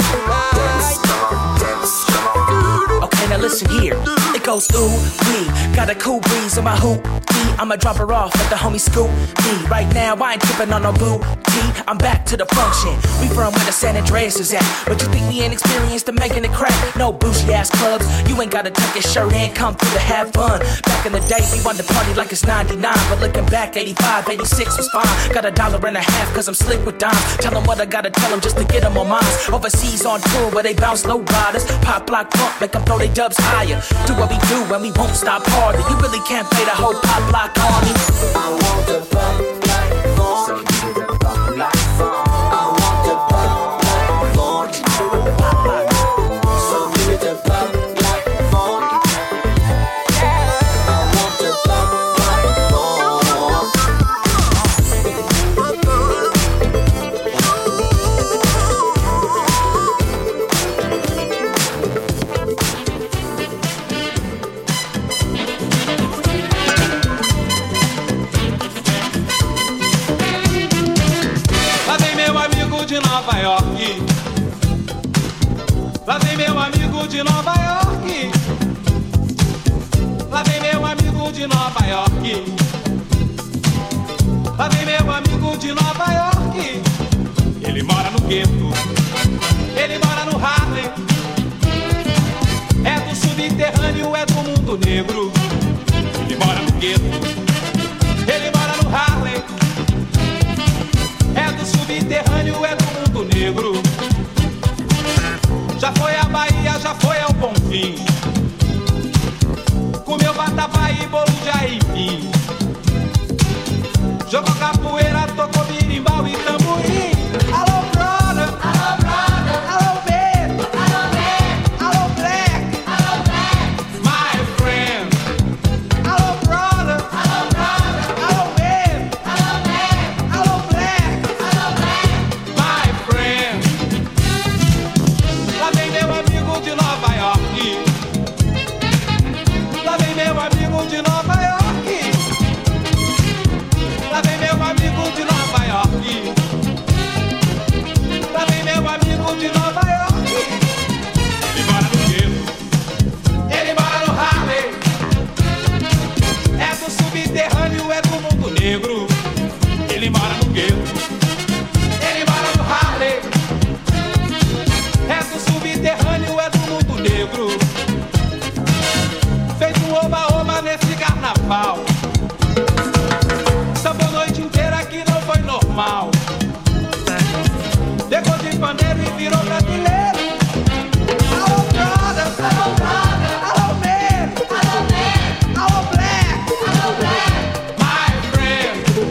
Okay, now listen here. It goes ooh wee. Got a cool breeze on my hoop. I'ma drop her off at the homie Scoop D. Right now I ain't tripping on no boo T. I'm back to the function. We from where the San Andreas is at. But you think we ain't experienced in making it crack? No bougie ass clubs. You ain't gotta tuck your shirt in. Come through to have fun. Back in the day we wanted to party like it's 99. But looking back 85, 86 was fine. Got $1.50 cause I'm slick with dimes. Tell them what I gotta tell them just to get them on minds. Overseas on tour where they bounce low riders. Pop block pump make them throw they dubs higher. Do what we do and we won't stop harder. You really can't play the whole pop block on me. I want the pop like phone. So give me the pop like phone. I want the pop like phone. So give me the pop like phone. I want the pop like phone. De Nova York. Lá vem meu amigo de Nova York. Lá vem meu amigo de Nova York. Lá vem meu amigo de Nova York. Ele mora no gueto. Ele mora no Harlem. É do subterrâneo, é do mundo negro. Ele mora no gueto. Ele mora no Harlem. É do subterrâneo, é do mundo negro. Já foi a Bahia, já foi ao Bonfim. Comeu vatapá e bolo de aipim. Jogou capoeira, tocou birimbau e tamborim. Alô, brother! Alô, brother! Alô, baby! Alô, baby! Alô, black! Alô, black! My friend! Alô, brother! Alô, brother! Alô, baby! Alô, baby! Alô, black! Alô, black! My friend! Lá vem meu amigo de Nova York. Lá vem meu amigo de Nova York. Lá vem meu amigo de Nova York. Lá vem meu amigo de Nova York. Ele mora no gueto. Ele mora no Harlem. É do subterrâneo, é do mundo negro. Ele mora no gueto. Ele mora no Harlem. É do subterrâneo, é do mundo negro. Fez um oba-oba nesse carnaval. Sambou a noite inteira que não foi normal. Pegou de pandeiro e virou brasileiro. Alô, brother! Alô, brother! Alô, man! Alô, man! Alô, black! Alô, black! My friend!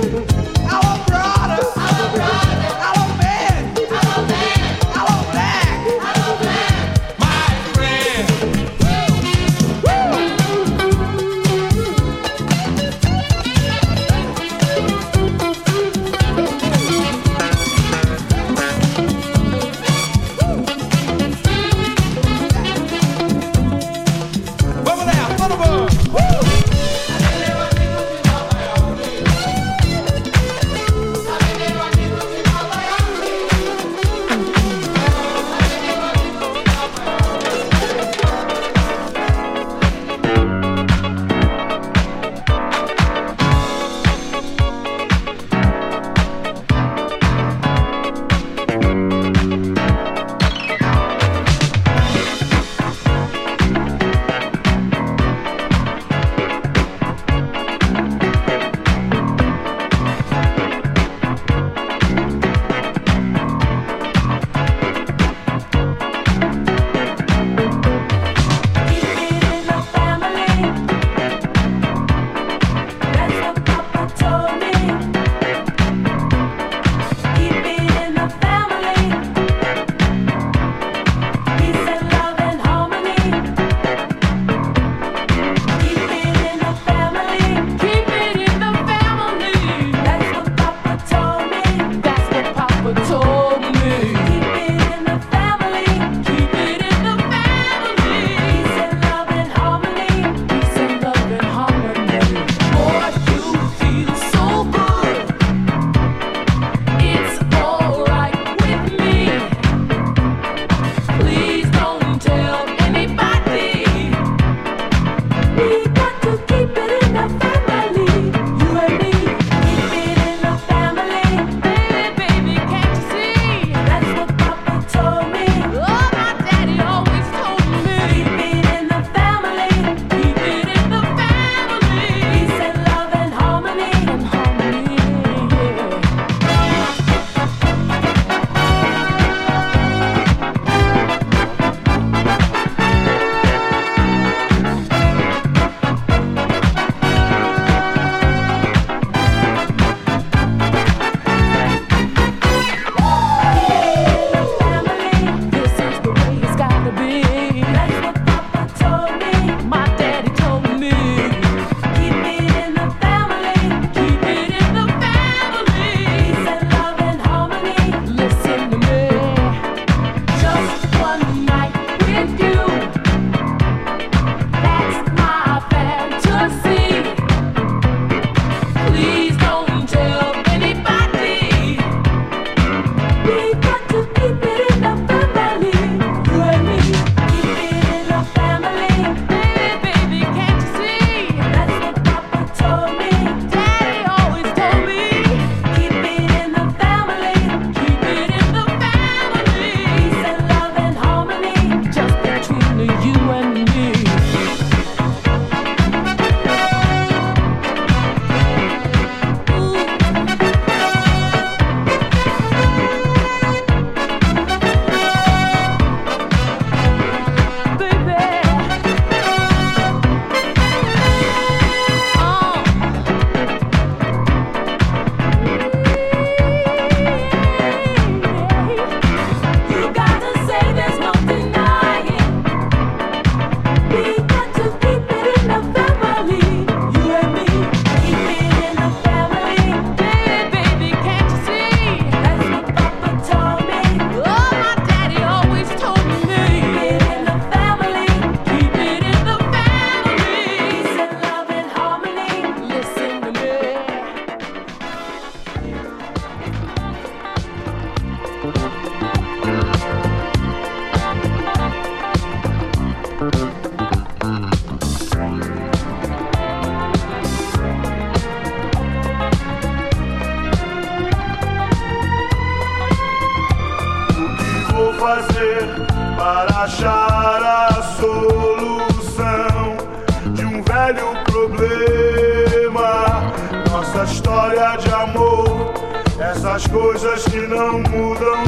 para achar a solução de um velho problema. Nossa história de amor, essas coisas que não mudam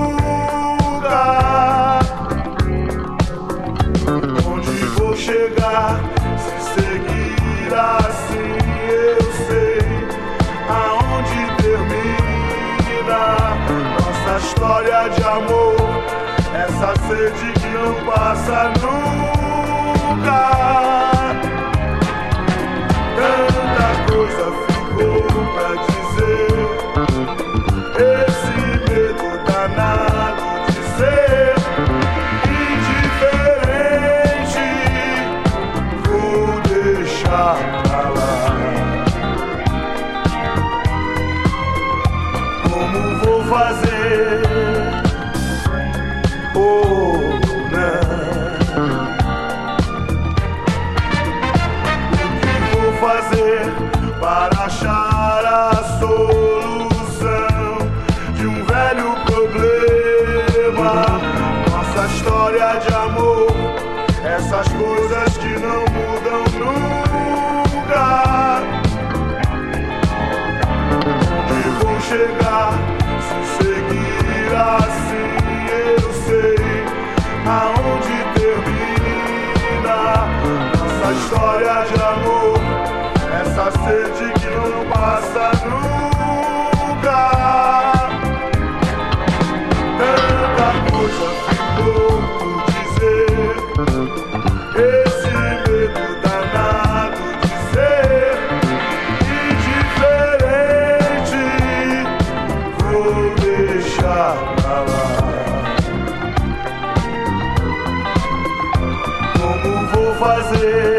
nunca. Onde vou chegar se seguir assim? Eu sei aonde termina nossa história de amor, essa sede que não passa nunca. Tanta coisa ficou pra dizer, esse medo danado de ser indiferente, vou deixar pra lá. Como vou fazer? Fazer para achar a solução de um velho problema. Nossa história de amor, essas coisas que não mudam nunca. Onde vou chegar se seguir assim? Eu sei aonde termina nossa história de amor, essa sede que não passa nunca. Tanta coisa ficou por dizer, esse medo danado de ser indiferente, vou deixar pra lá. Como vou fazer?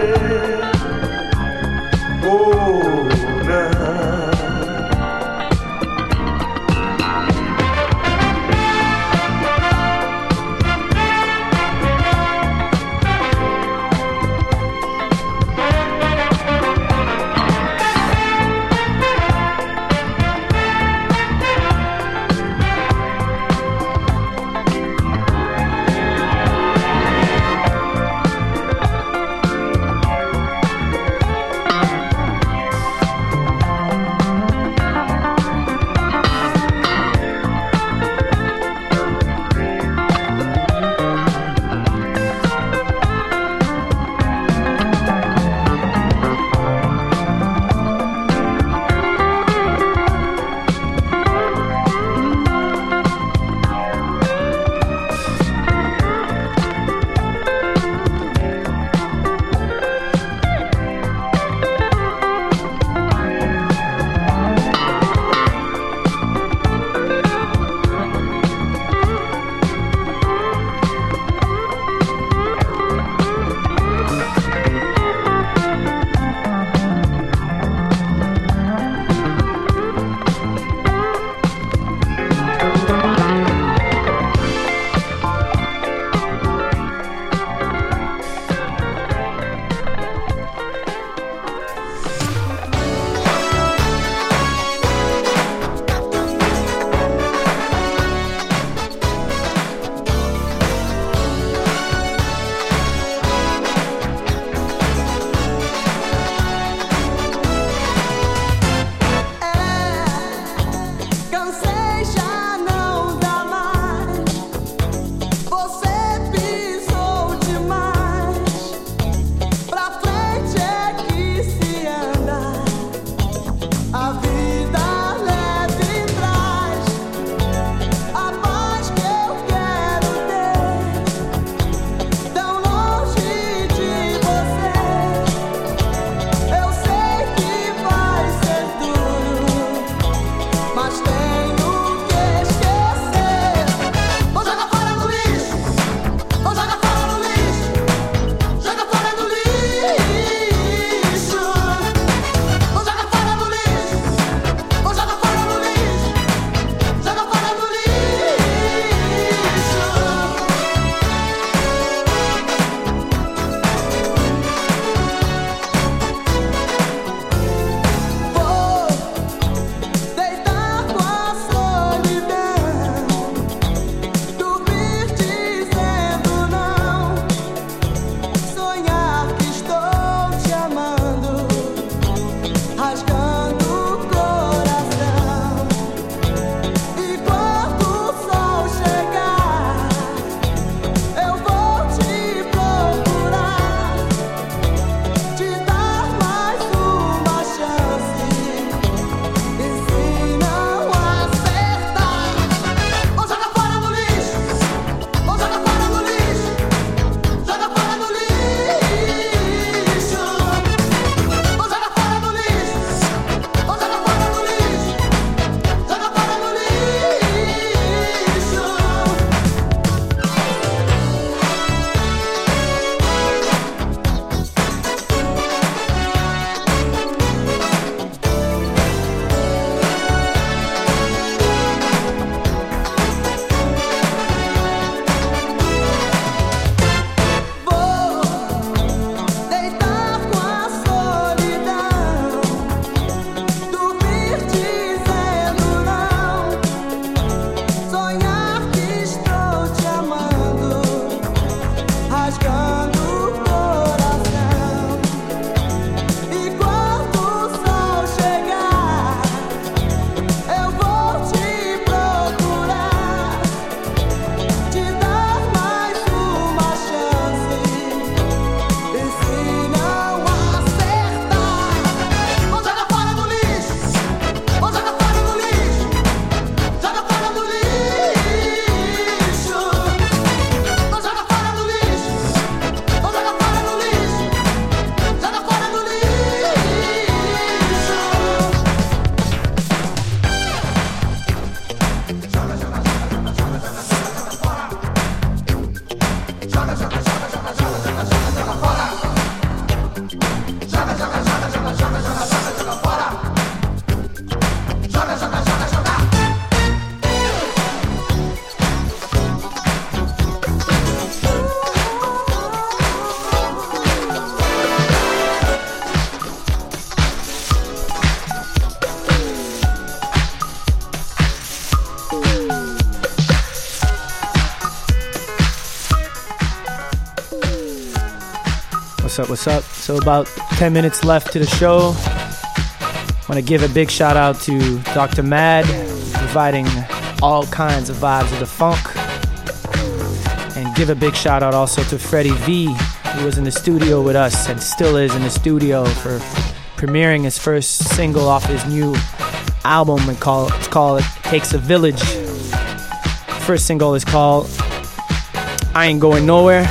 What's up, what's up? So about 10 minutes left to the show. I want to give a big shout out to Dr. Mad, providing all kinds of vibes of the funk. And give a big shout out also to Freddie V, who was in the studio with us and still is in the studio for premiering his first single off his new album. It's called It Takes a Village. First single is called I Ain't Going Nowhere.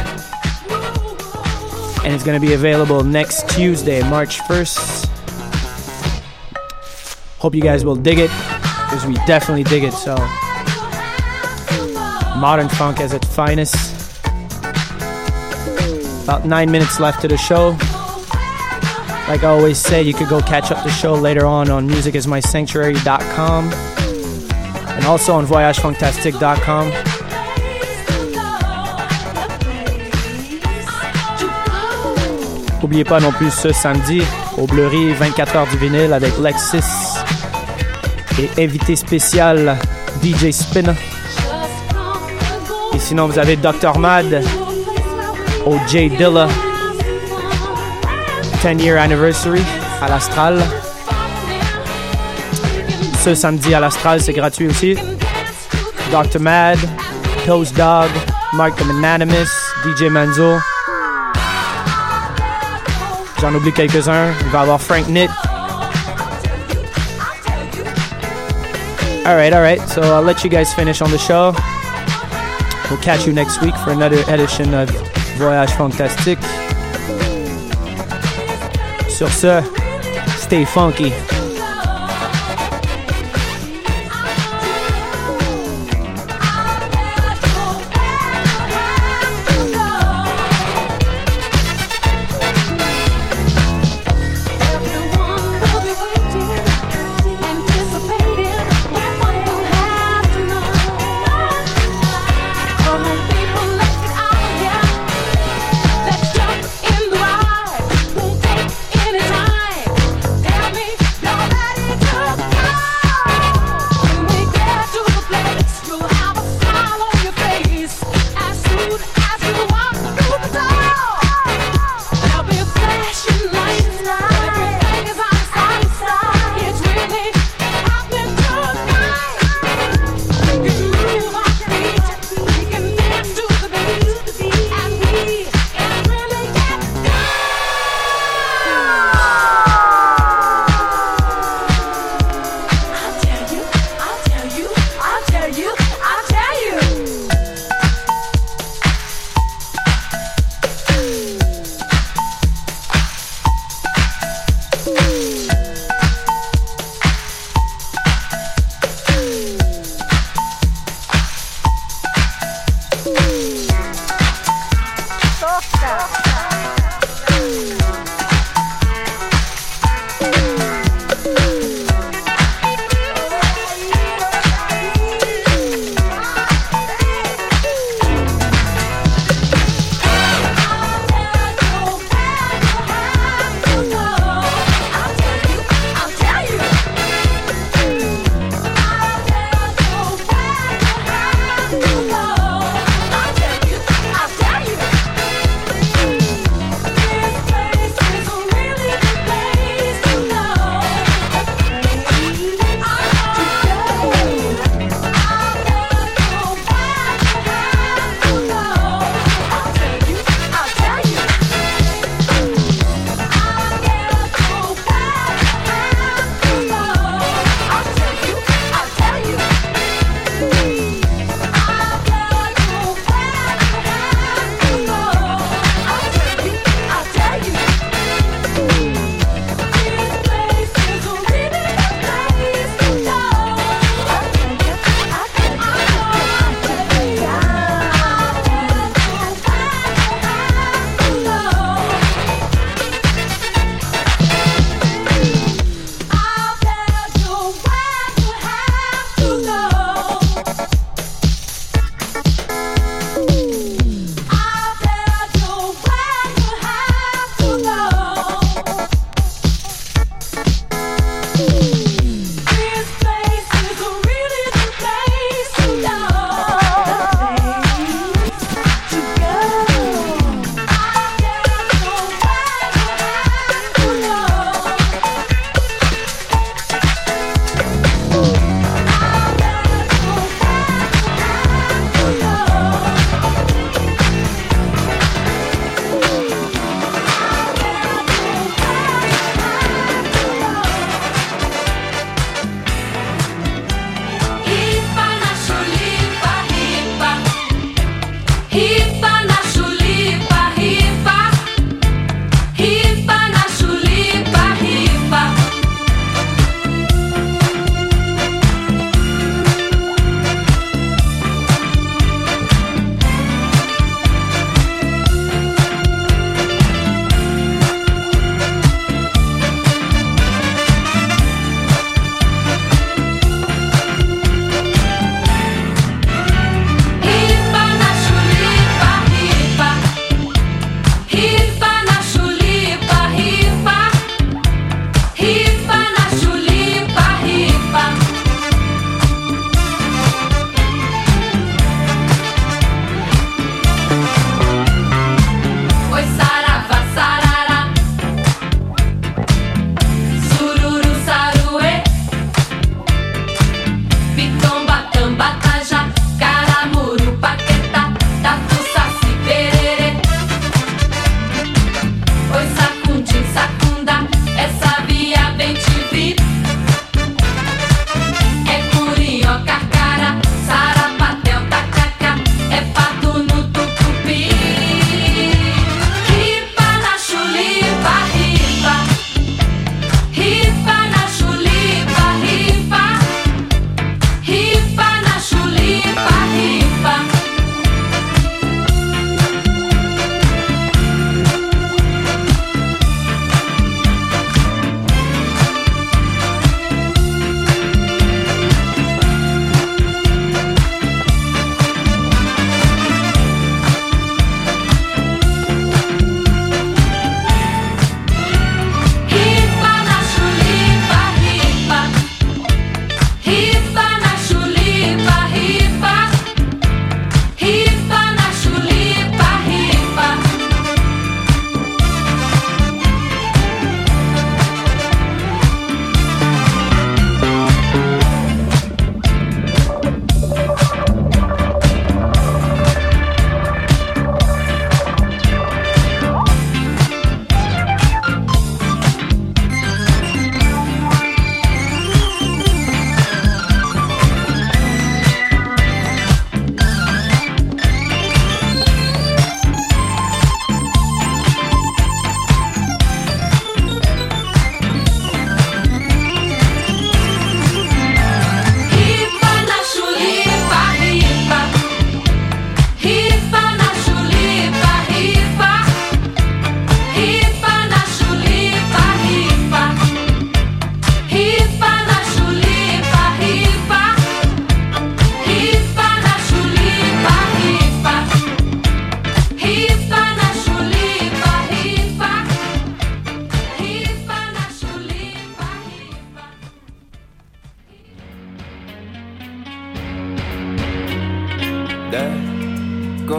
And it's going to be available next Tuesday, March 1st. Hope you guys will dig it, because we definitely dig it. So, modern funk at its finest. About 9 minutes left to the show. Like I always say, you could go catch up the show later on musicismysanctuary.com and also on voyagefunktastique.com. N'oubliez pas non plus ce samedi au Bleury, 24 heures du vinyle avec Lexis et invité spécial DJ Spin. Et sinon, vous avez Dr. Mad au J Dilla 10-year anniversary à l'Astral. Ce samedi à l'Astral, c'est gratuit aussi. Dr. Mad, Toast Dog, Mark the Anonymous, DJ Manzo. J'en oublie quelques-uns. Il va y avoir Frank Nitt. All right. So I'll let you guys finish on the show. We'll catch you next week for another edition of Voyage Funktastique. Sur ce, stay funky.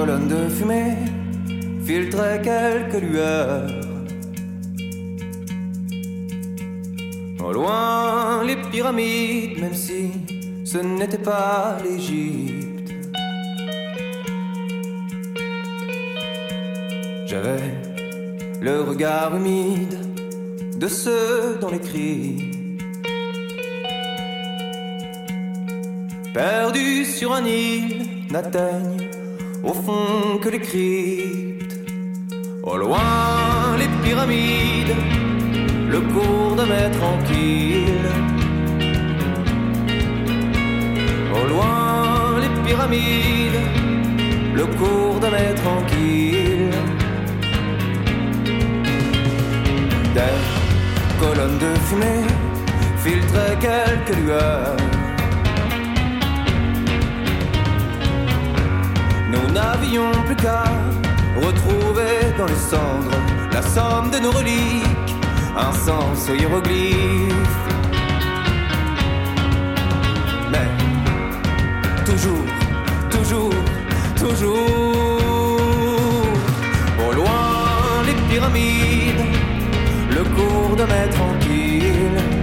colonnes de fumée filtraient quelques lueurs. Au loin, les pyramides, même si ce n'était pas l'Égypte. J'avais le regard humide de ceux dont les cris, perdus sur un île, n'atteignent au fond que les cryptes. Au loin, les pyramides, le cours de mer tranquille. Au loin, les pyramides, le cours de mer tranquille. Des colonnes de fumée filtraient quelques lueurs. Nous n'avions plus qu'à retrouver dans les cendres la somme de nos reliques, un sens aux hiéroglyphes. Mais toujours, toujours, toujours, au loin les pyramides, le cours de mer tranquille.